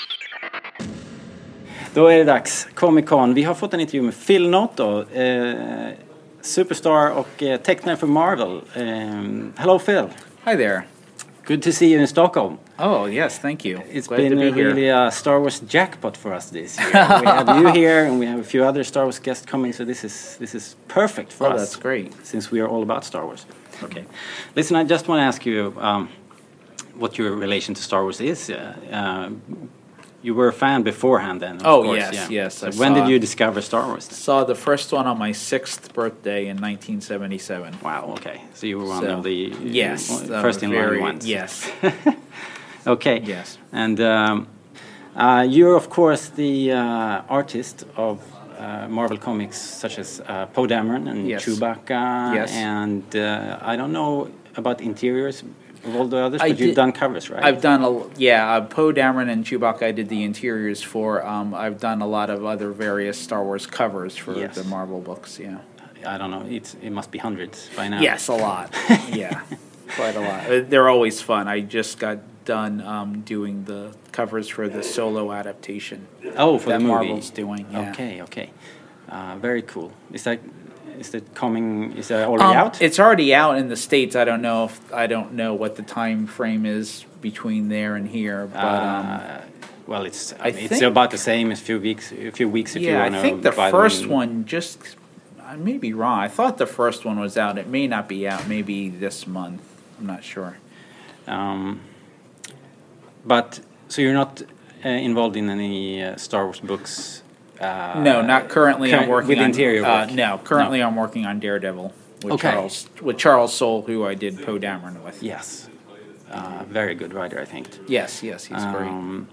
Då är det dags. Comic Con. Vi har fått en intervju med Phil Noto. Uh, superstar och uh, tecknare för Marvel. Uh, hello Phil. Hi there. Good to see you in Stockholm. Oh, yes, thank you. It's Glad been to be a here. really a Star Wars jackpot for us this year. We have you here, and we have a few other Star Wars guests coming, so this is this is perfect for Oh, us. that's great. Since we are all about Star Wars. Okay. Listen, I just want to ask you um, what your relation to Star Wars is. Uh, uh, you were a fan beforehand then, of Oh, course, yes, yeah. yes, So I when did saw- you discover Star Wars then? Saw the first one on my sixth birthday in nineteen seventy-seven. Wow, okay. So you were one So, of the yes, uh, first uh, in very- line ones. Yes. Okay. Yes. And um, uh, you're, of course, the uh, artist of uh, Marvel comics such as uh, Poe Dameron and Yes. Chewbacca. Yes. And uh, I don't know about interiors of all the others, I but you've did- done covers, right? I've done a yeah, uh, Poe Dameron and Chewbacca. I did the interiors for. Um, I've done a lot of other various Star Wars covers for Yes. the Marvel books. Yeah. I don't know. It's, it must be hundreds by now. Yes, a lot. Yeah, quite a lot. Uh, They're always fun. I just got done um, doing the covers for the solo adaptation Oh, for that the movie. Marvel's doing. Yeah. Okay, okay. Uh, very cool. Is that is that coming? Is that already Um, out? It's already out in the States. I don't know if I don't know what the time frame is between there and here, but um, Uh, well, it's I I mean, it's think- about the same as few weeks. A few weeks if you yeah, want I to. think the buy first them. one just. I may be wrong. I thought the first one was out. It may not be out. Maybe this month. I'm not sure. Um, but so you're not uh, involved in any uh, Star Wars books? Uh, No, not currently. I'm current- working with on interior Uh, work? no, currently I'm working on Daredevil with Okay. Charles with Charles Soule, who I did Poe Dameron with. Yes, uh, very good writer, I think. Yes, yes, he's great. Um,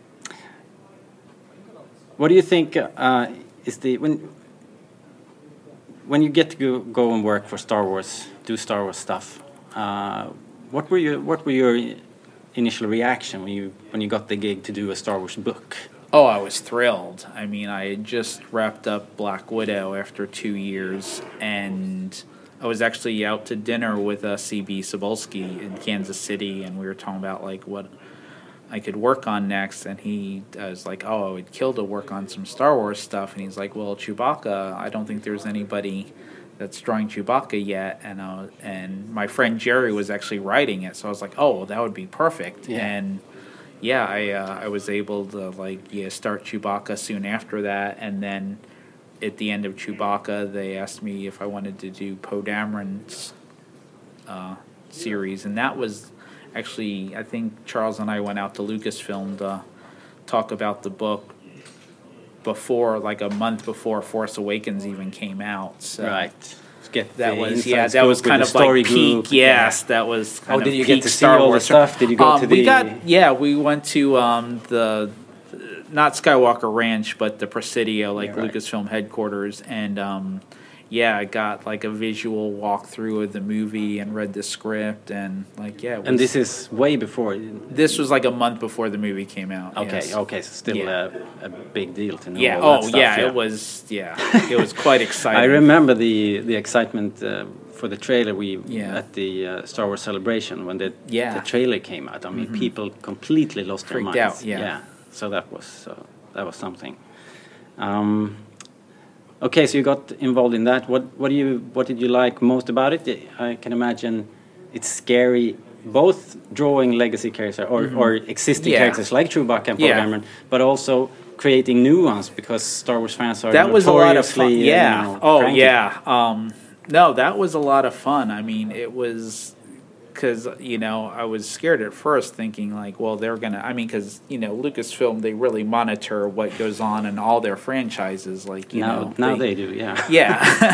what do you think uh, is the when when you get to go, go and work for Star Wars, do Star Wars stuff? Uh, what were your what were your initial reaction when you when you got the gig to do a Star Wars book? Oh, I was thrilled. I mean, I had just wrapped up Black Widow after two years, and I was actually out to dinner with uh, C B Cebulski in Kansas City, and we were talking about like what I could work on next. And he I was like, "Oh, I would kill to work on some Star Wars stuff." And he's like, "Well, Chewbacca, I don't think there's anybody that's drawing Chewbacca yet." And uh, and my friend Jerry was actually writing it, so I was like, "Oh, well, that would be perfect." Yeah. And yeah, I uh, I was able to like yeah start Chewbacca soon after that, and then at the end of Chewbacca, they asked me if I wanted to do Poe Dameron's uh, series, and that was actually I think Charles and I went out to Lucasfilm to talk about the book before, like a month before Force Awakens even came out. So Right. Get That the was inside yeah, that scoop was with kind the of like story peak. group. Yes, that was. Kind Oh, did of you get peak to see Star all the Wars. stuff? Did you go um, to We the- got yeah, we went to um, the not Skywalker Ranch, but the Presidio, like Yeah, right. Lucasfilm headquarters, and um, yeah, I got like a visual walkthrough of the movie and read the script, and like yeah, it was, And this is way before. this was like a month before the movie came out. Okay, yes. okay, so still Yeah. a, a big deal to know. Yeah. all that Oh, stuff, yeah, It was. Yeah. It was quite exciting. I remember the the excitement uh, for the trailer we Yeah. at the uh, Star Wars celebration when the Yeah. the trailer came out. I mean, people completely lost Freaked their minds. out, yeah. So that was uh, that was something. Um, okay, so you got involved in that. What what do you what did you like most about it? I can imagine it's scary. Both drawing legacy characters or, or existing Yeah. characters like Chewbacca and Poe Yeah. Dameron, but also creating new ones because Star Wars fans are That was a lot of fun. notoriously, uh, Yeah. you know, oh, cranky. yeah. Um, no, that was a lot of fun. I mean, it was because you know I was scared at first, thinking like, well, they're gonna. I mean, because you know Lucasfilm, they really monitor what goes on in all their franchises. Like you Now, know, now they, do, yeah. yeah.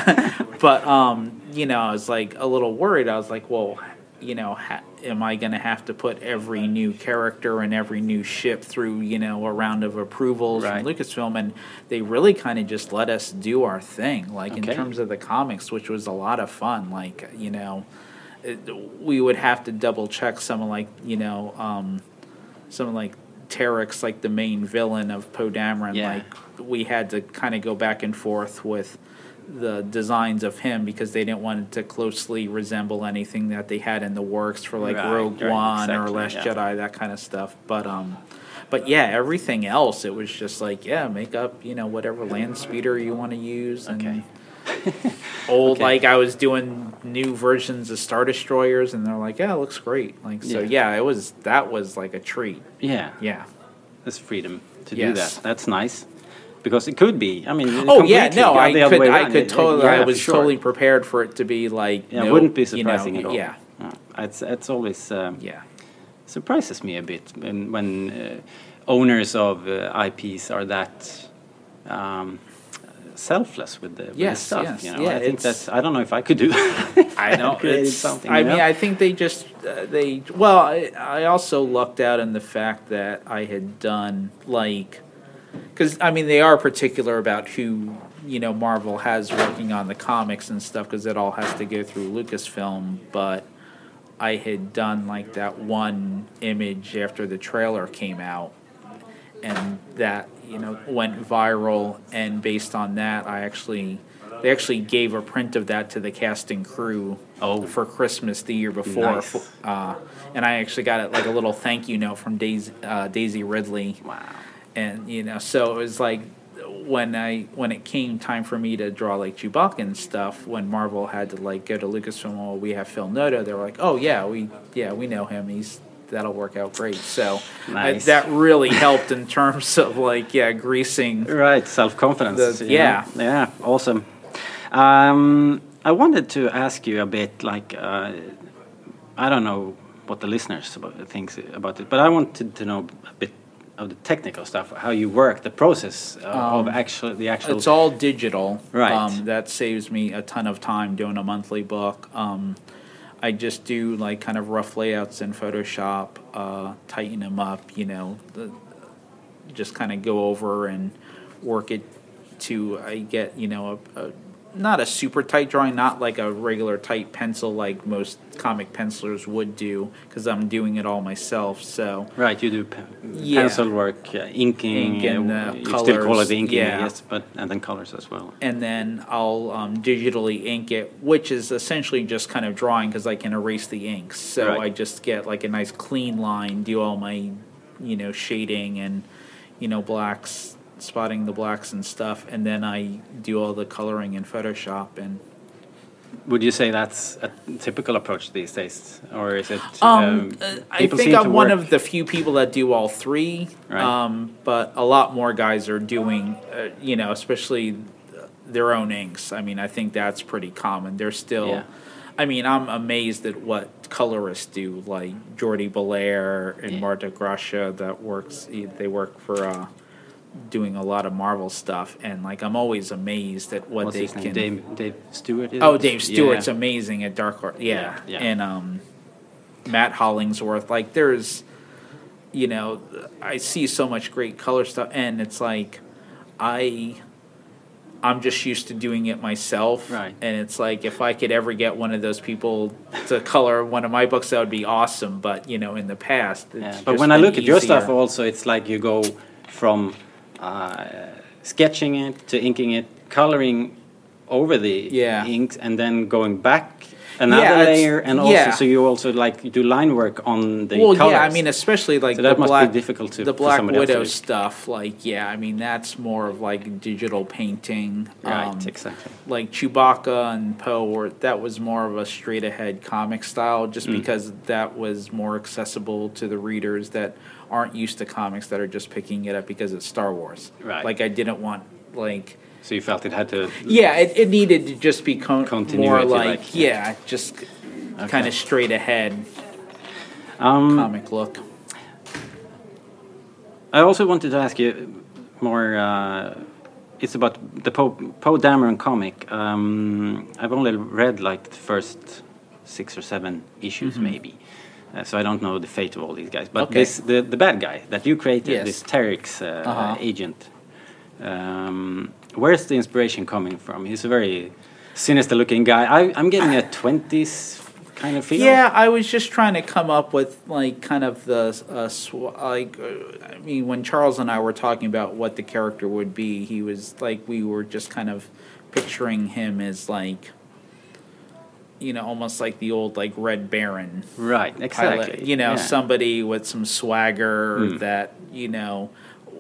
But um, you know, I was like a little worried. I was like, well, you know, ha- am I going to have to put every new character and every new ship through, you know, a round of approvals Right. from Lucasfilm? And they really kind of just let us do our thing, like Okay. in terms of the comics, which was a lot of fun. Like, you know, it, we would have to double check someone like, you know, um, someone like Terex, like the main villain of Poe Dameron. Yeah. Like, we had to kind of go back and forth with the designs of him because they didn't want it to closely resemble anything that they had in the works for like Right, Rogue right, One or exactly, Last yeah. Jedi, that kind of stuff. But um, but yeah, everything else, it was just like yeah, make up you know whatever land speeder you want to use. And Okay. old, Okay. like I was doing new versions of Star Destroyers, and they're like, "Yeah, it looks great." Like so, Yeah. yeah, it was that was like a treat. Yeah. Yeah. There's freedom to do Yes. that. That's nice. Because it could be. I mean, Oh yeah, completely no, the I other could, way I around. could It- totally, yeah, I was for sure. totally prepared for it to be like, Yeah, no, wouldn't be you know, surprising at all. Yeah, No. It's it's always um, yeah. surprises me a bit when when uh, owners of uh, I Ps are that um, selfless with the, with the Yes, stuff. yes, You know, yeah, I think it's- that's. I don't know if I could do. if I know. had created It's, something. I you mean, know? I think they just uh, they. Well, I, I also lucked out in the fact that I had done like, because I mean they are particular about who you know Marvel has working on the comics and stuff because it all has to go through Lucasfilm. But I had done like that one image after the trailer came out, and that you know went viral, and based on that, I actually. They actually gave a print of that to the cast and crew Oh. for Christmas the year before, Nice. uh, and I actually got it like a little thank you note from Daisy, uh, Daisy Ridley. Wow. And you know, so it was like when I when it came time for me to draw like Chewbacca and stuff, when Marvel had to like go to Lucasfilm, well, we have Phil Noto. They were like, oh yeah, we yeah we know him. He's that'll work out great. So I, Nice. that really helped in terms of like yeah greasing. Right, self confidence. The- yeah. yeah, awesome. Um, I wanted to ask you a bit, like, uh, I don't know what the listeners about, thinks about it, but I wanted to know a bit of the technical stuff, how you work, the process uh, of actual the actual. It's all digital. Right. Um, that saves me a ton of time doing a monthly book. Um, I just do like kind of rough layouts in Photoshop, uh, tighten them up, you know, the, just kind of go over and work it to I get you know a, a not a super tight drawing, not like a regular tight pencil like most comic pencilers would do, because I'm doing it all myself. So Right, you do pe- Yeah. pencil work, uh, inking, Ink and, uh, uh, you still call colors, it inking, yeah. yes, but and then colors as well. and then I'll um, digitally ink it, which is essentially just kind of drawing because I can erase the inks. So Right. I just get like a nice clean line, do all my, you know, shading and, you know, blacks, spotting the blacks and stuff, and then I do all the coloring in Photoshop. And Would you say that's a typical approach these days, or is it? um, uh, I people think seem I'm to one work- of the few people that do all three. Right. Um, but a lot more guys are doing, uh, you know, especially their own inks. I mean, I think that's pretty common. They're still. Yeah. I mean, I'm amazed at what colorists do, like Jordi Belair and Yeah. Marta Gracia. That works. They work for uh, doing a lot of Marvel stuff, and like I'm always amazed at what What's they his name? can. Dave, Dave Stewart. Is Oh, it? Dave Stewart's Yeah. amazing at Dark Horse. Yeah. Yeah, yeah. And um, Matt Hollingsworth. Like, there's, you know, I see so much great color stuff, and it's like, I, I'm just used to doing it myself. Right. And it's like, if I could ever get one of those people to color one of my books, that would be awesome. But, you know, in the past, it's Yeah, but just when I been look at your stuff, easier. also, it's like you go from uh, sketching it to inking it, coloring over the Yeah. inks, and then going back another Yeah, it's- layer, and also yeah. so you also like do line work on the well, colors. yeah, I mean, especially like So that the must be black, difficult to- the for Black somebody else to Widow do. stuff. Like, yeah, I mean, that's more of like digital painting. Right, um, exactly. Like Chewbacca and Poe, were that was more of a straight ahead comic style, just Mm. because that was more accessible to the readers that aren't used to comics, that are just picking it up because it's Star Wars. Right. Like, I didn't want like. So you felt it had to. Yeah, it, it needed to just be con- more Continuity, like, like, yeah, just kind of straight ahead Um, comic look. I also wanted to ask you more. Uh, it's about the Poe Poe Dameron comic. Um, I've only read like the first six or seven issues, maybe, uh, so I don't know the fate of all these guys. But Mm-hmm. Okay. this the the bad guy that you created, Yes. this Terex uh, Uh-huh. agent. Um, where's the inspiration coming from? He's a very sinister-looking guy. I, I'm getting a twenties kind of feel. Yeah, I was just trying to come up with like kind of the uh, sw- like uh, I mean, when Charles and I were talking about what the character would be, he was like we were just kind of picturing him as like, you know, almost like the old like Red Baron Right. Exactly. pilot, you know, Yeah. somebody with some swagger Mm. that, you know,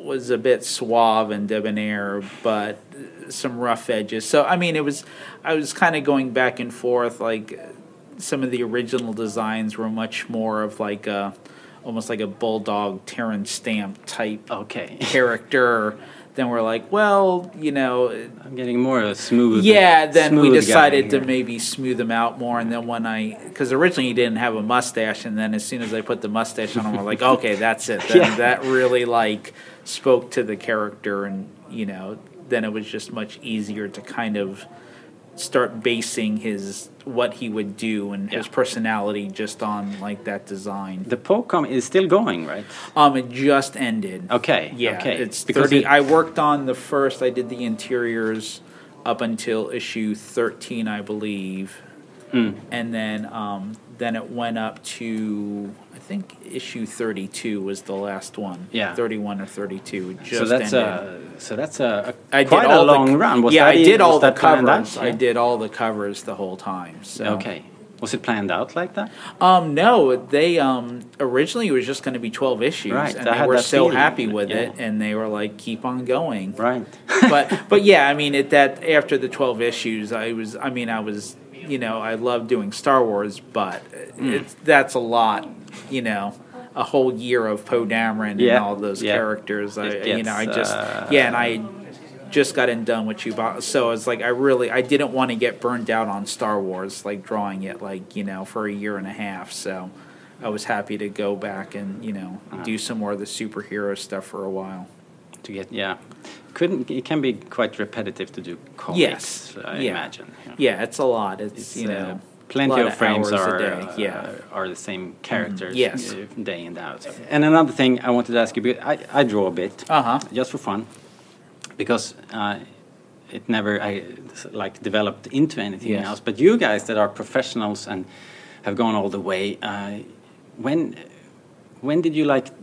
was a bit suave and debonair, but some rough edges. So I mean, it was I was kind of going back and forth. Like some of the original designs were much more of like a almost like a bulldog Terrence Stamp type Okay. character. Then we're like, well, you know, I'm getting more of a smooth. yeah. Then we smooth decided guy to here. maybe smooth him out more. And then when I, because originally he didn't have a mustache, and then as soon as I put the mustache on him, we're like, okay, that's it. Then Yeah. that really like spoke to the character, and you know, then it was just much easier to kind of start basing his what he would do and his Yeah. personality just on like that design. The Pocom is still going, right? Um, it just ended. Okay. Yeah, Okay. it's Because thirty. it- I worked on the first. I did the interiors up until issue thirteen, I believe, Mm. and then um, then it went up to I think issue thirty-two was the last one. Yeah. thirty-one or thirty-two. It just So that's ended. a so that's a, a I quite did a all long the, run. Was yeah, that I e- did all was the that planned covers. out? I Yeah. did all the covers the whole time. So. Okay. Was it planned out like that? Um, no, they um originally it was just going to be twelve issues, Right, and I they had were that so feeling. happy with Yeah. it, and they were like, "Keep on going." Right. but but yeah, I mean, at that after the twelve issues, I was I mean, I was you know I love doing Star Wars, but Mm. it's that's a lot, you know. A whole year of Poe Dameron Yeah, and all those yeah. characters. I, It you know, I gets, just uh, yeah, and I just got in done with Chewbacca, so it's like I really I didn't want to get burned out on Star Wars, like drawing it like you know for a year and a half. So I was happy to go back and you know do some more of the superhero stuff for a while. To get yeah, couldn't it can be quite repetitive to do comics? Yes, I yeah. imagine. Yeah. Yeah, it's a lot. It's, It's, you uh, know plenty a lot of frames hours are a day. uh, Yeah. are the same characters. yes. uh, day in day out. And another thing I wanted to ask you, because I I draw a bit Uh-huh. just for fun, because uh, it never I like developed into anything Yes. else. But you guys that are professionals and have gone all the way, uh, when when did you like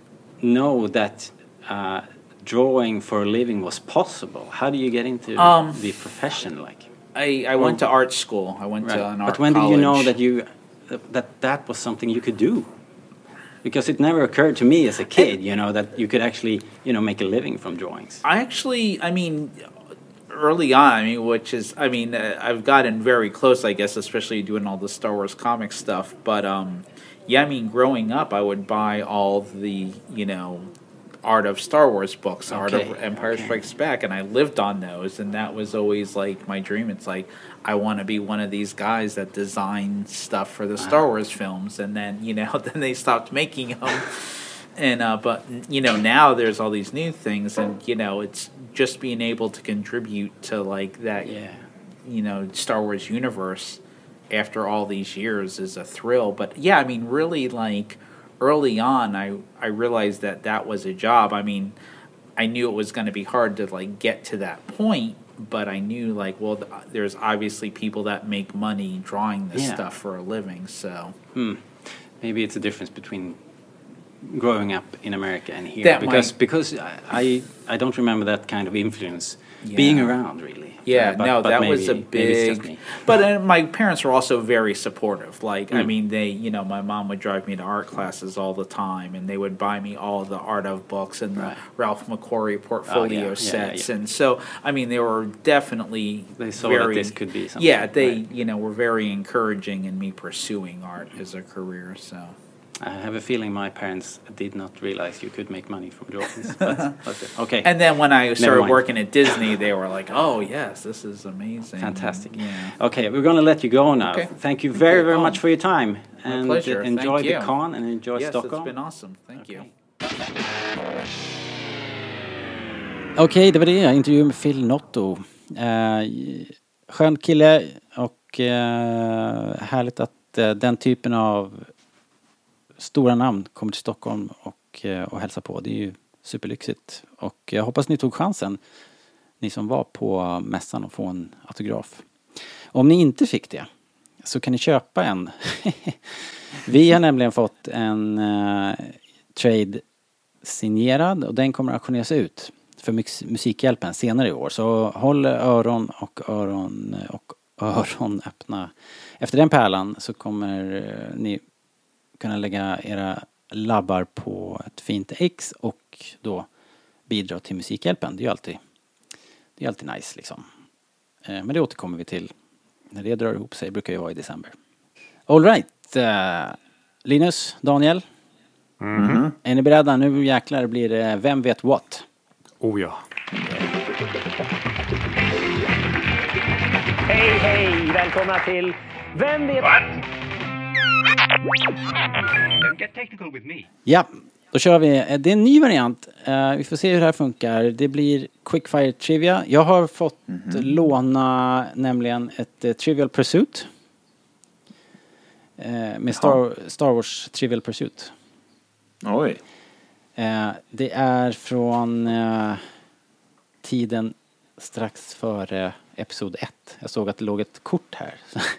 know that uh, drawing for a living was possible? How do you get into Um, the profession like? I, I went to art school. I went Right. to an art But when did you know college. that you that that was something you could do? Because it never occurred to me as a kid, you know, that you could actually, you know, make a living from drawings. I actually, I mean, early on, I mean, which is, I mean, uh, I've gotten very close, I guess, especially doing all the Star Wars comic stuff. But um, yeah, I mean, growing up, I would buy all the, you know, Art of Star Wars books, Art Okay, of Empire okay. Strikes Back, and I lived on those, and that was always like my dream. It's like I want to be one of these guys that design stuff for the Star Wars films, and then you know, then they stopped making them. And uh, but you know now there's all these new things, and you know it's just being able to contribute to like that, Yeah. you know, Star Wars universe after all these years is a thrill. But yeah, I mean, really, like early on, I I realized that that was a job. I mean, I knew it was going to be hard to like get to that point, but I knew like, well, th- there's obviously people that make money drawing this Yeah. stuff for a living. So Hmm. Maybe it's a difference between growing up in America and here, That because might- because I, I I don't remember that kind of influence Yeah. being around really. Yeah, Uh, but- no, but that was a maybe- maybe it's just big. me. But uh, my parents were also very supportive. Like, I Mm. mean, they, you know, my mom would drive me to art classes all the time, and they would buy me all the Art of books and Right. the Ralph McQuarrie portfolio yeah, yeah, sets. yeah. And so, I mean, they were definitely They saw very, that this could be something, Yeah, they, right. you know, were very encouraging in me pursuing art as a career. So. I have a feeling my parents did not realize you could make money from drawings. but, but, okay. And then when I started mind. working at Disney, they were like, "Oh yes, this is amazing, Fantastic. Yeah. Okay, we're going to let you go now. Okay. Thank you Thank very, you. very Oh, much for your time. my And pleasure. uh, enjoy Thank the you. con and enjoy Yes, Stockholm. it's been awesome. Thank Okay. you. Okej, det var det. Intervju med Phil Noto. Eh, skön kille och eh, härligt att eh, den typen av stora namn kommer till Stockholm och, eh, och hälsar på. Det är ju superlyxigt. Och jag hoppas ni tog chansen, ni som var på mässan, och få en autograf. Om ni inte fick det så kan ni köpa en. Vi har nämligen fått en eh, trade signerad och den kommer att auktioneras ut för Mux- Musikhjälpen senare i år. Så håll öron och öron och öron öppna. Efter den pärlan så kommer eh, ni kunna lägga era labbar på ett fint ex och då bidra till Musikhjälpen. Det är ju alltid, det är alltid nice liksom. Eh, men det återkommer vi till när det drar ihop sig. Det brukar ju vara i december. All right. Eh, Linus, Daniel. Mhm. Är ni beredda? Nu jäklar blir det Vem vet what? Oh ja. Hej, hej! Välkomna till Vem vet... Don't get technical with me. Ja, då kör vi. Eh, Det är en ny variant. Eh, vi får se hur det här funkar. Det blir Quickfire Trivia. Jag har fått låna nämligen ett eh, Trivial Pursuit. Eh, med Star, Star Wars Trivial Pursuit. Oj. Eh, det är från eh, tiden strax före episod ett. Jag såg att det låg ett kort här.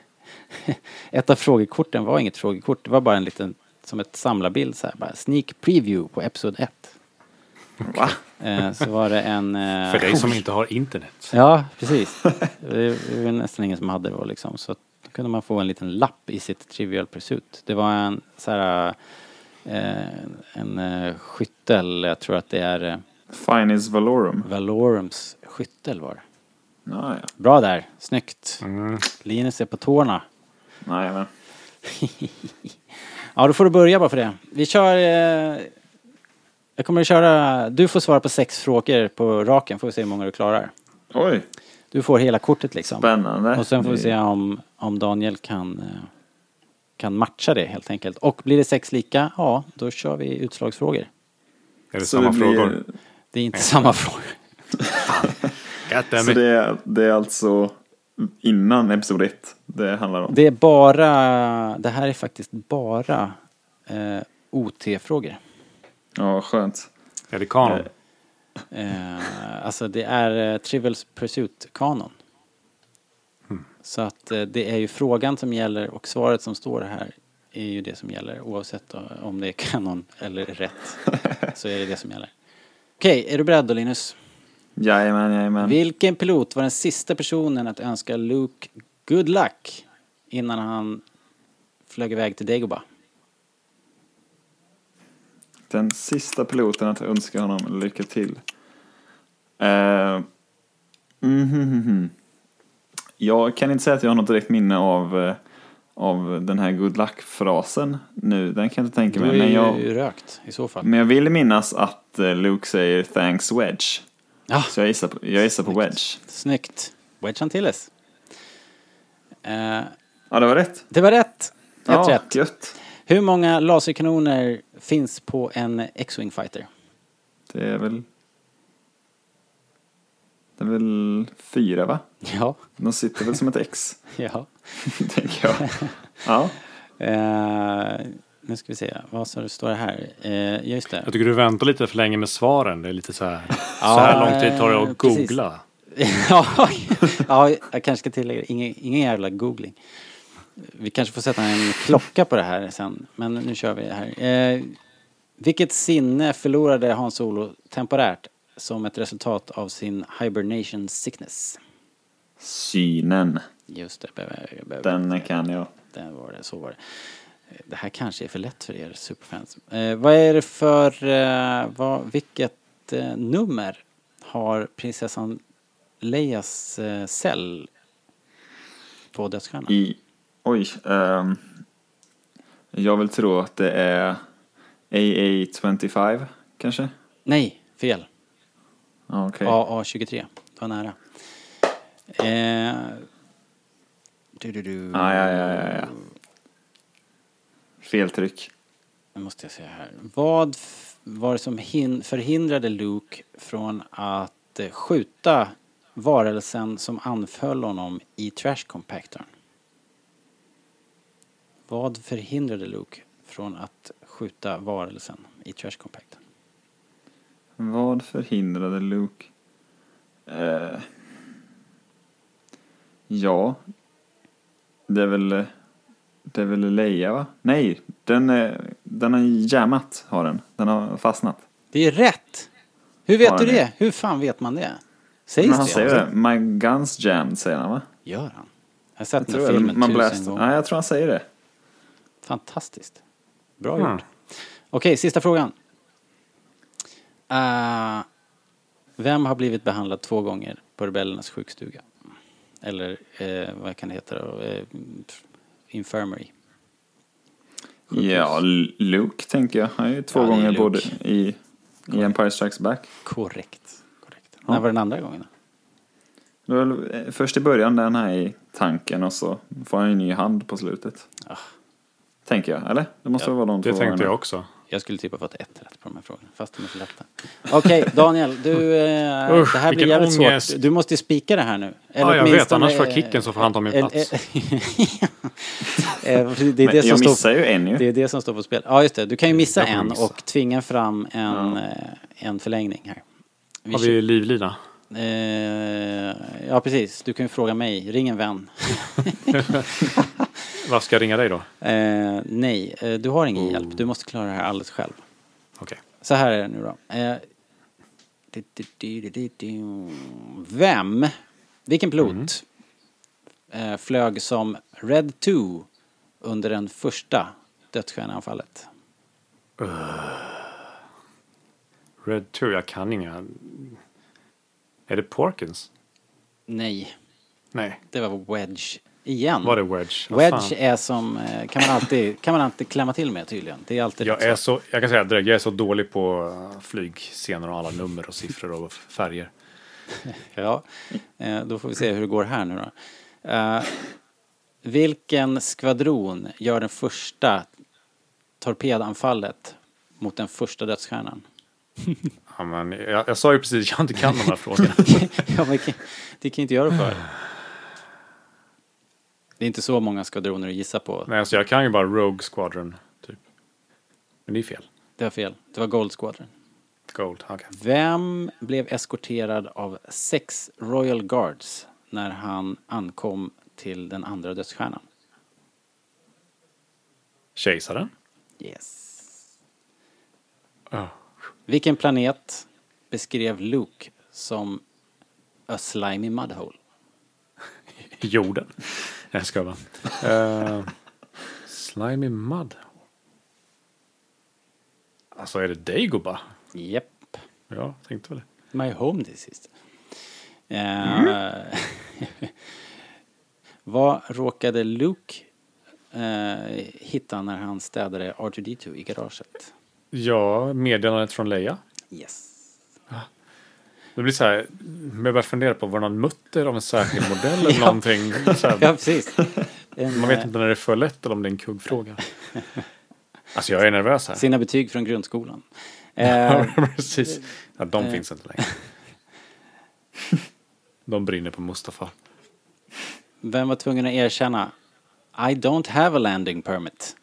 Ett av frågekorten var inget frågekort. Det var bara en liten, som ett samlarbild så här. Bara sneak preview på episod ett. Va? Eh, så var det en... Eh, För dig som inte har internet. Ja, precis. Det var nästan ingen som hade det då liksom. Så då kunde man få en liten lapp i sitt Trivial Pursuit. Det var en så här... Eh, en eh, skyttel, jag tror att det är eh, Finis Valorum. Valorums skyttel var det. Ja, ja. Bra där, snyggt. Mm. Linus är på tårna. Nej, men. Ja, då får du börja bara för det. Vi kör... Eh, jag kommer att köra... Du får svara på sex frågor på raken. Får vi se hur många du klarar. Oj, Du får hela kortet liksom. spännande. Och sen får vi se om, om Daniel kan, eh, kan matcha det helt enkelt. Och blir det sex lika, ja, då kör vi utslagsfrågor. Är det Så samma det blir- frågor? Det är inte samma frågor. Så det är, det är alltså innan episod ett det handlar om. Det är bara... Det här är faktiskt bara eh, O T-frågor. Ja, skönt. Är det kanon? Eh, alltså det är eh, Trivial Pursuit-kanon. Så att eh, det är ju frågan som gäller och svaret som står här är ju det som gäller. Oavsett då, om det är kanon eller rätt så är det det som gäller. Okej, är du beredd då Linus? Jajamän, jajamän. Vilken pilot var den sista personen att önska Luke good luck innan han flög iväg till Dagobah? Den sista piloten att önska honom lycka till. Uh, mm-hmm. Jag kan inte säga att jag har något direkt minne av, uh, av den här good luck-frasen nu. Den kan jag inte tänka Du mig. är Men jag, ju rökt i så fall. men jag vill minnas att uh, Luke säger thanks Wedge. Ja, Så jag gissar på, jag gissar på Wedge. snyggt. Wedge Antilles. Eh, Ja, det var rätt. det var rätt. Ett Ja, rätt. gött. Hur många laserkanoner finns på en X-Wing fighter? Det är väl... Det är väl fyra, va? Ja. De sitter väl som ett X, Ja. tänker jag. Ja. Eh, nu ska vi se. Vad så det står det här? Eh, just det. Jag tycker du väntar lite för länge med svaren. Det är lite så här. Så här lång tid tar det att precis. googla. ja, ja, jag kanske ska tillägga ingen, ingen jävla googling. Vi kanske får sätta en klocka på det här sen. Men nu kör vi det här. Eh, vilket sinne förlorade Han Solo temporärt som ett resultat av sin hibernation sickness? Synen. Just det. Be, be, be, Den kan jag. Den var det, så var det. Eh, Det här kanske är för lätt för er superfans. Eh, vad är det för... Eh, vad, vilket eh, nummer har prinsessan Leias eh, cell på dödsstjärnan? I... Oj. ehm, jag vill tro att det är A A tjugofem, kanske? Nej, fel. Ja, okej. A A tjugotre. Det var nära. Eh, du, du, du. Ah, ja, ja, ja, ja. Fel tryck. Nu måste jag se här. Vad f- var det som hin- förhindrade Luke från att eh, skjuta varelsen som anföll honom i trash compactorn? Vad förhindrade Luke från att skjuta varelsen i trash compactorn? Vad förhindrade Luke? Eh, ja. Det är väl... Det är väl Leia, va? Nej, den, är, den har jammat, har den. Den har fastnat. Det är rätt! Hur vet Har du den det? det? Hur fan vet man det? Sägs Men han det? säger det. My guns jammed, säger han, va? Gör han? Jag har sett Jag den tror här det. filmen Man tusen blast. gånger. Nej, jag tror han säger det. Fantastiskt. Bra Mm. gjort. Okej, sista frågan. Uh, Vem har blivit behandlad två gånger på rebellernas sjukstuga? Eller eh, vad kan det heta då? Eh, infirmary. Ja, Luke tänker jag. Han är ju två Ja, det är gånger Luke. både i, i Empire Strikes Back. Korrekt. Korrekt. När var den andra gången då? Det var väl, eh, först i början där han är i tanken och så får han en ny hand på slutet. Ah. Tänker jag, eller? Det måste Ja, vara de Det två tänkte gångerna. jag också. Jag skulle typ ha fått ett rätt på de här frågorna, fast de är så lätta. Okej, Daniel, du, eh, Usch, det här blir vilken jävligt ångest. svårt. Du måste ju spika det här nu. Ja, jag vet, åtminstone, annars får jag eh, kicken så får han ta min eh, plats. eh, det är Men det som jag står, missar ju en ju. det är det som står på spel. Ja, just det. Du kan ju missa Jag kommer en missa. och tvinga fram en, Ja. eh, en förlängning här. Vi Har vi livlina? kör- eh, ja, precis. Du kan ju fråga mig. Ring en vän. Vad ska jag ringa dig då? Eh, nej, eh, du har ingen Oh. hjälp. Du måste klara det här alldeles själv. Okej. Så här är det nu då. Eh, du, du, du, du, du, du. Vem, vilken pilot eh, flög som Red två under den första dödsstjärneanfallet? Red två, jag kan inga. Är det Porkins? Nej, Nej. det var Wedge igen. Var det Wedge? Vad Wedge fan? är som, eh, kan man alltid, kan man alltid klämma till med tydligen. Det är alltid Jag rätt är så. så, jag kan säga direkt, jag är så dålig på uh, flygscener och alla nummer och siffror och färger. Ja, eh, då får vi se hur det går här nu då. Eh, vilken skvadron gör den första torpedanfallet mot den första dödsstjärnan? Ja, men jag, jag sa ju precis att jag inte kan de här frågorna. Ja, men kan- det kan ju inte göra för. Det är inte så många skvadroner att gissa på. Nej, alltså jag kan ju bara Rogue Squadron, typ. Men det är fel. Det var fel. Det var Gold Squadron. Gold, okej. Vem blev eskorterad av sex Royal Guards när han ankom till den andra dödsstjärnan? Kejsaren? Yes. Ja. Vilken planet beskrev Luke som a slimy mudhole? Jorden. Jag ska bara. Uh, slimy mud. Alltså är det Dagobah? Japp. Ja, tänkte väl det. My home this is. Eh, vad råkade Luke eh, hitta när han städade R två D två i garaget? Ja, meddelandet från Leia. Yes. Det blir så här, jag börjar fundera på var någon mutter av en särskild modell eller Ja. någonting. Så här, Ja, precis. En, man vet eh, inte när det är för lätt eller om det är en kuggfråga. Alltså jag är nervös här. Sina betyg från grundskolan. Eh, Ja, precis. Ja, de eh. finns inte längre. De brinner på Mustafa. vem var tvungen att erkänna I don't have a landing permit?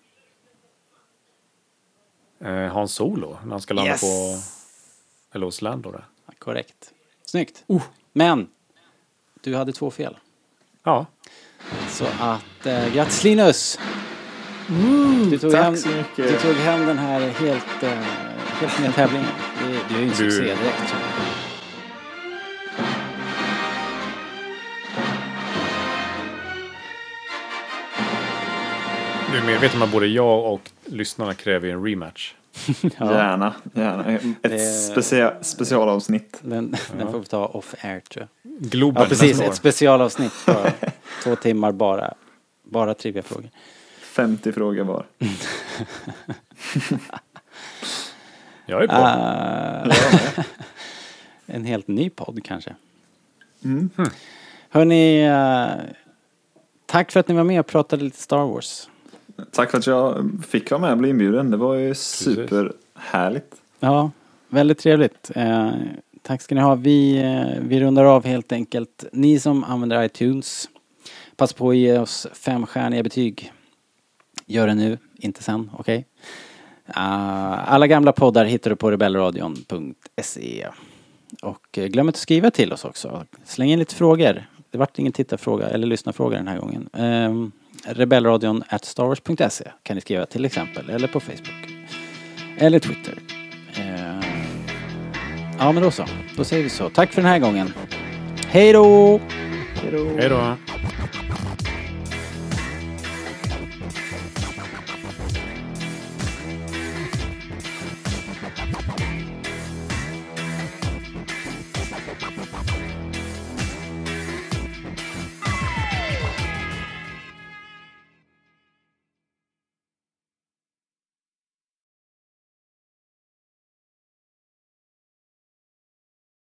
Eh, Han Solo, när han ska landa Yes. på Hellos Lando där. Korrekt. Snyggt. Men du hade två fel. Ja, Så att, eh, grattis Linus! Du tog, tack hem, så mycket. du tog hem den här helt, eh, helt med tävlingen. Du, du är ju en Du- succé direkt. Så. du är medveten om att både jag och lyssnarna kräver en rematch. Gärna, gärna. Ett Det- specia- specialavsnitt. Den, den får vi ta off-air tror jag. Globen Ja, precis. nästa år. Ett specialavsnitt på två timmar bara. Bara triviafrågor. femtio frågor var. Jag är på. Uh, en helt ny podd kanske. Mm. Hörrni, uh, tack för att ni var med och pratade lite Star Wars. Tack för att jag fick vara med och bli inbjuden. Det var ju superhärligt. Ja, väldigt trevligt. Eh, tack ska ni ha. Vi, eh, vi rundar av helt enkelt. Ni som använder iTunes, pass på att ge oss femstjärniga betyg. Gör det nu, inte sen, okej? Uh, alla gamla poddar hittar du på rebellradion punkt se. Och eh, glöm inte att skriva till oss också. Släng in lite frågor. Det vart ingen tittarfråga eller lyssnarfråga den här gången. Um, rebellradion at starwars punkt se kan ni skriva till exempel. Eller på Facebook. Eller Twitter. Uh, ja men då så. Då säger vi så. Tack för den här gången. Hej då! Hej då.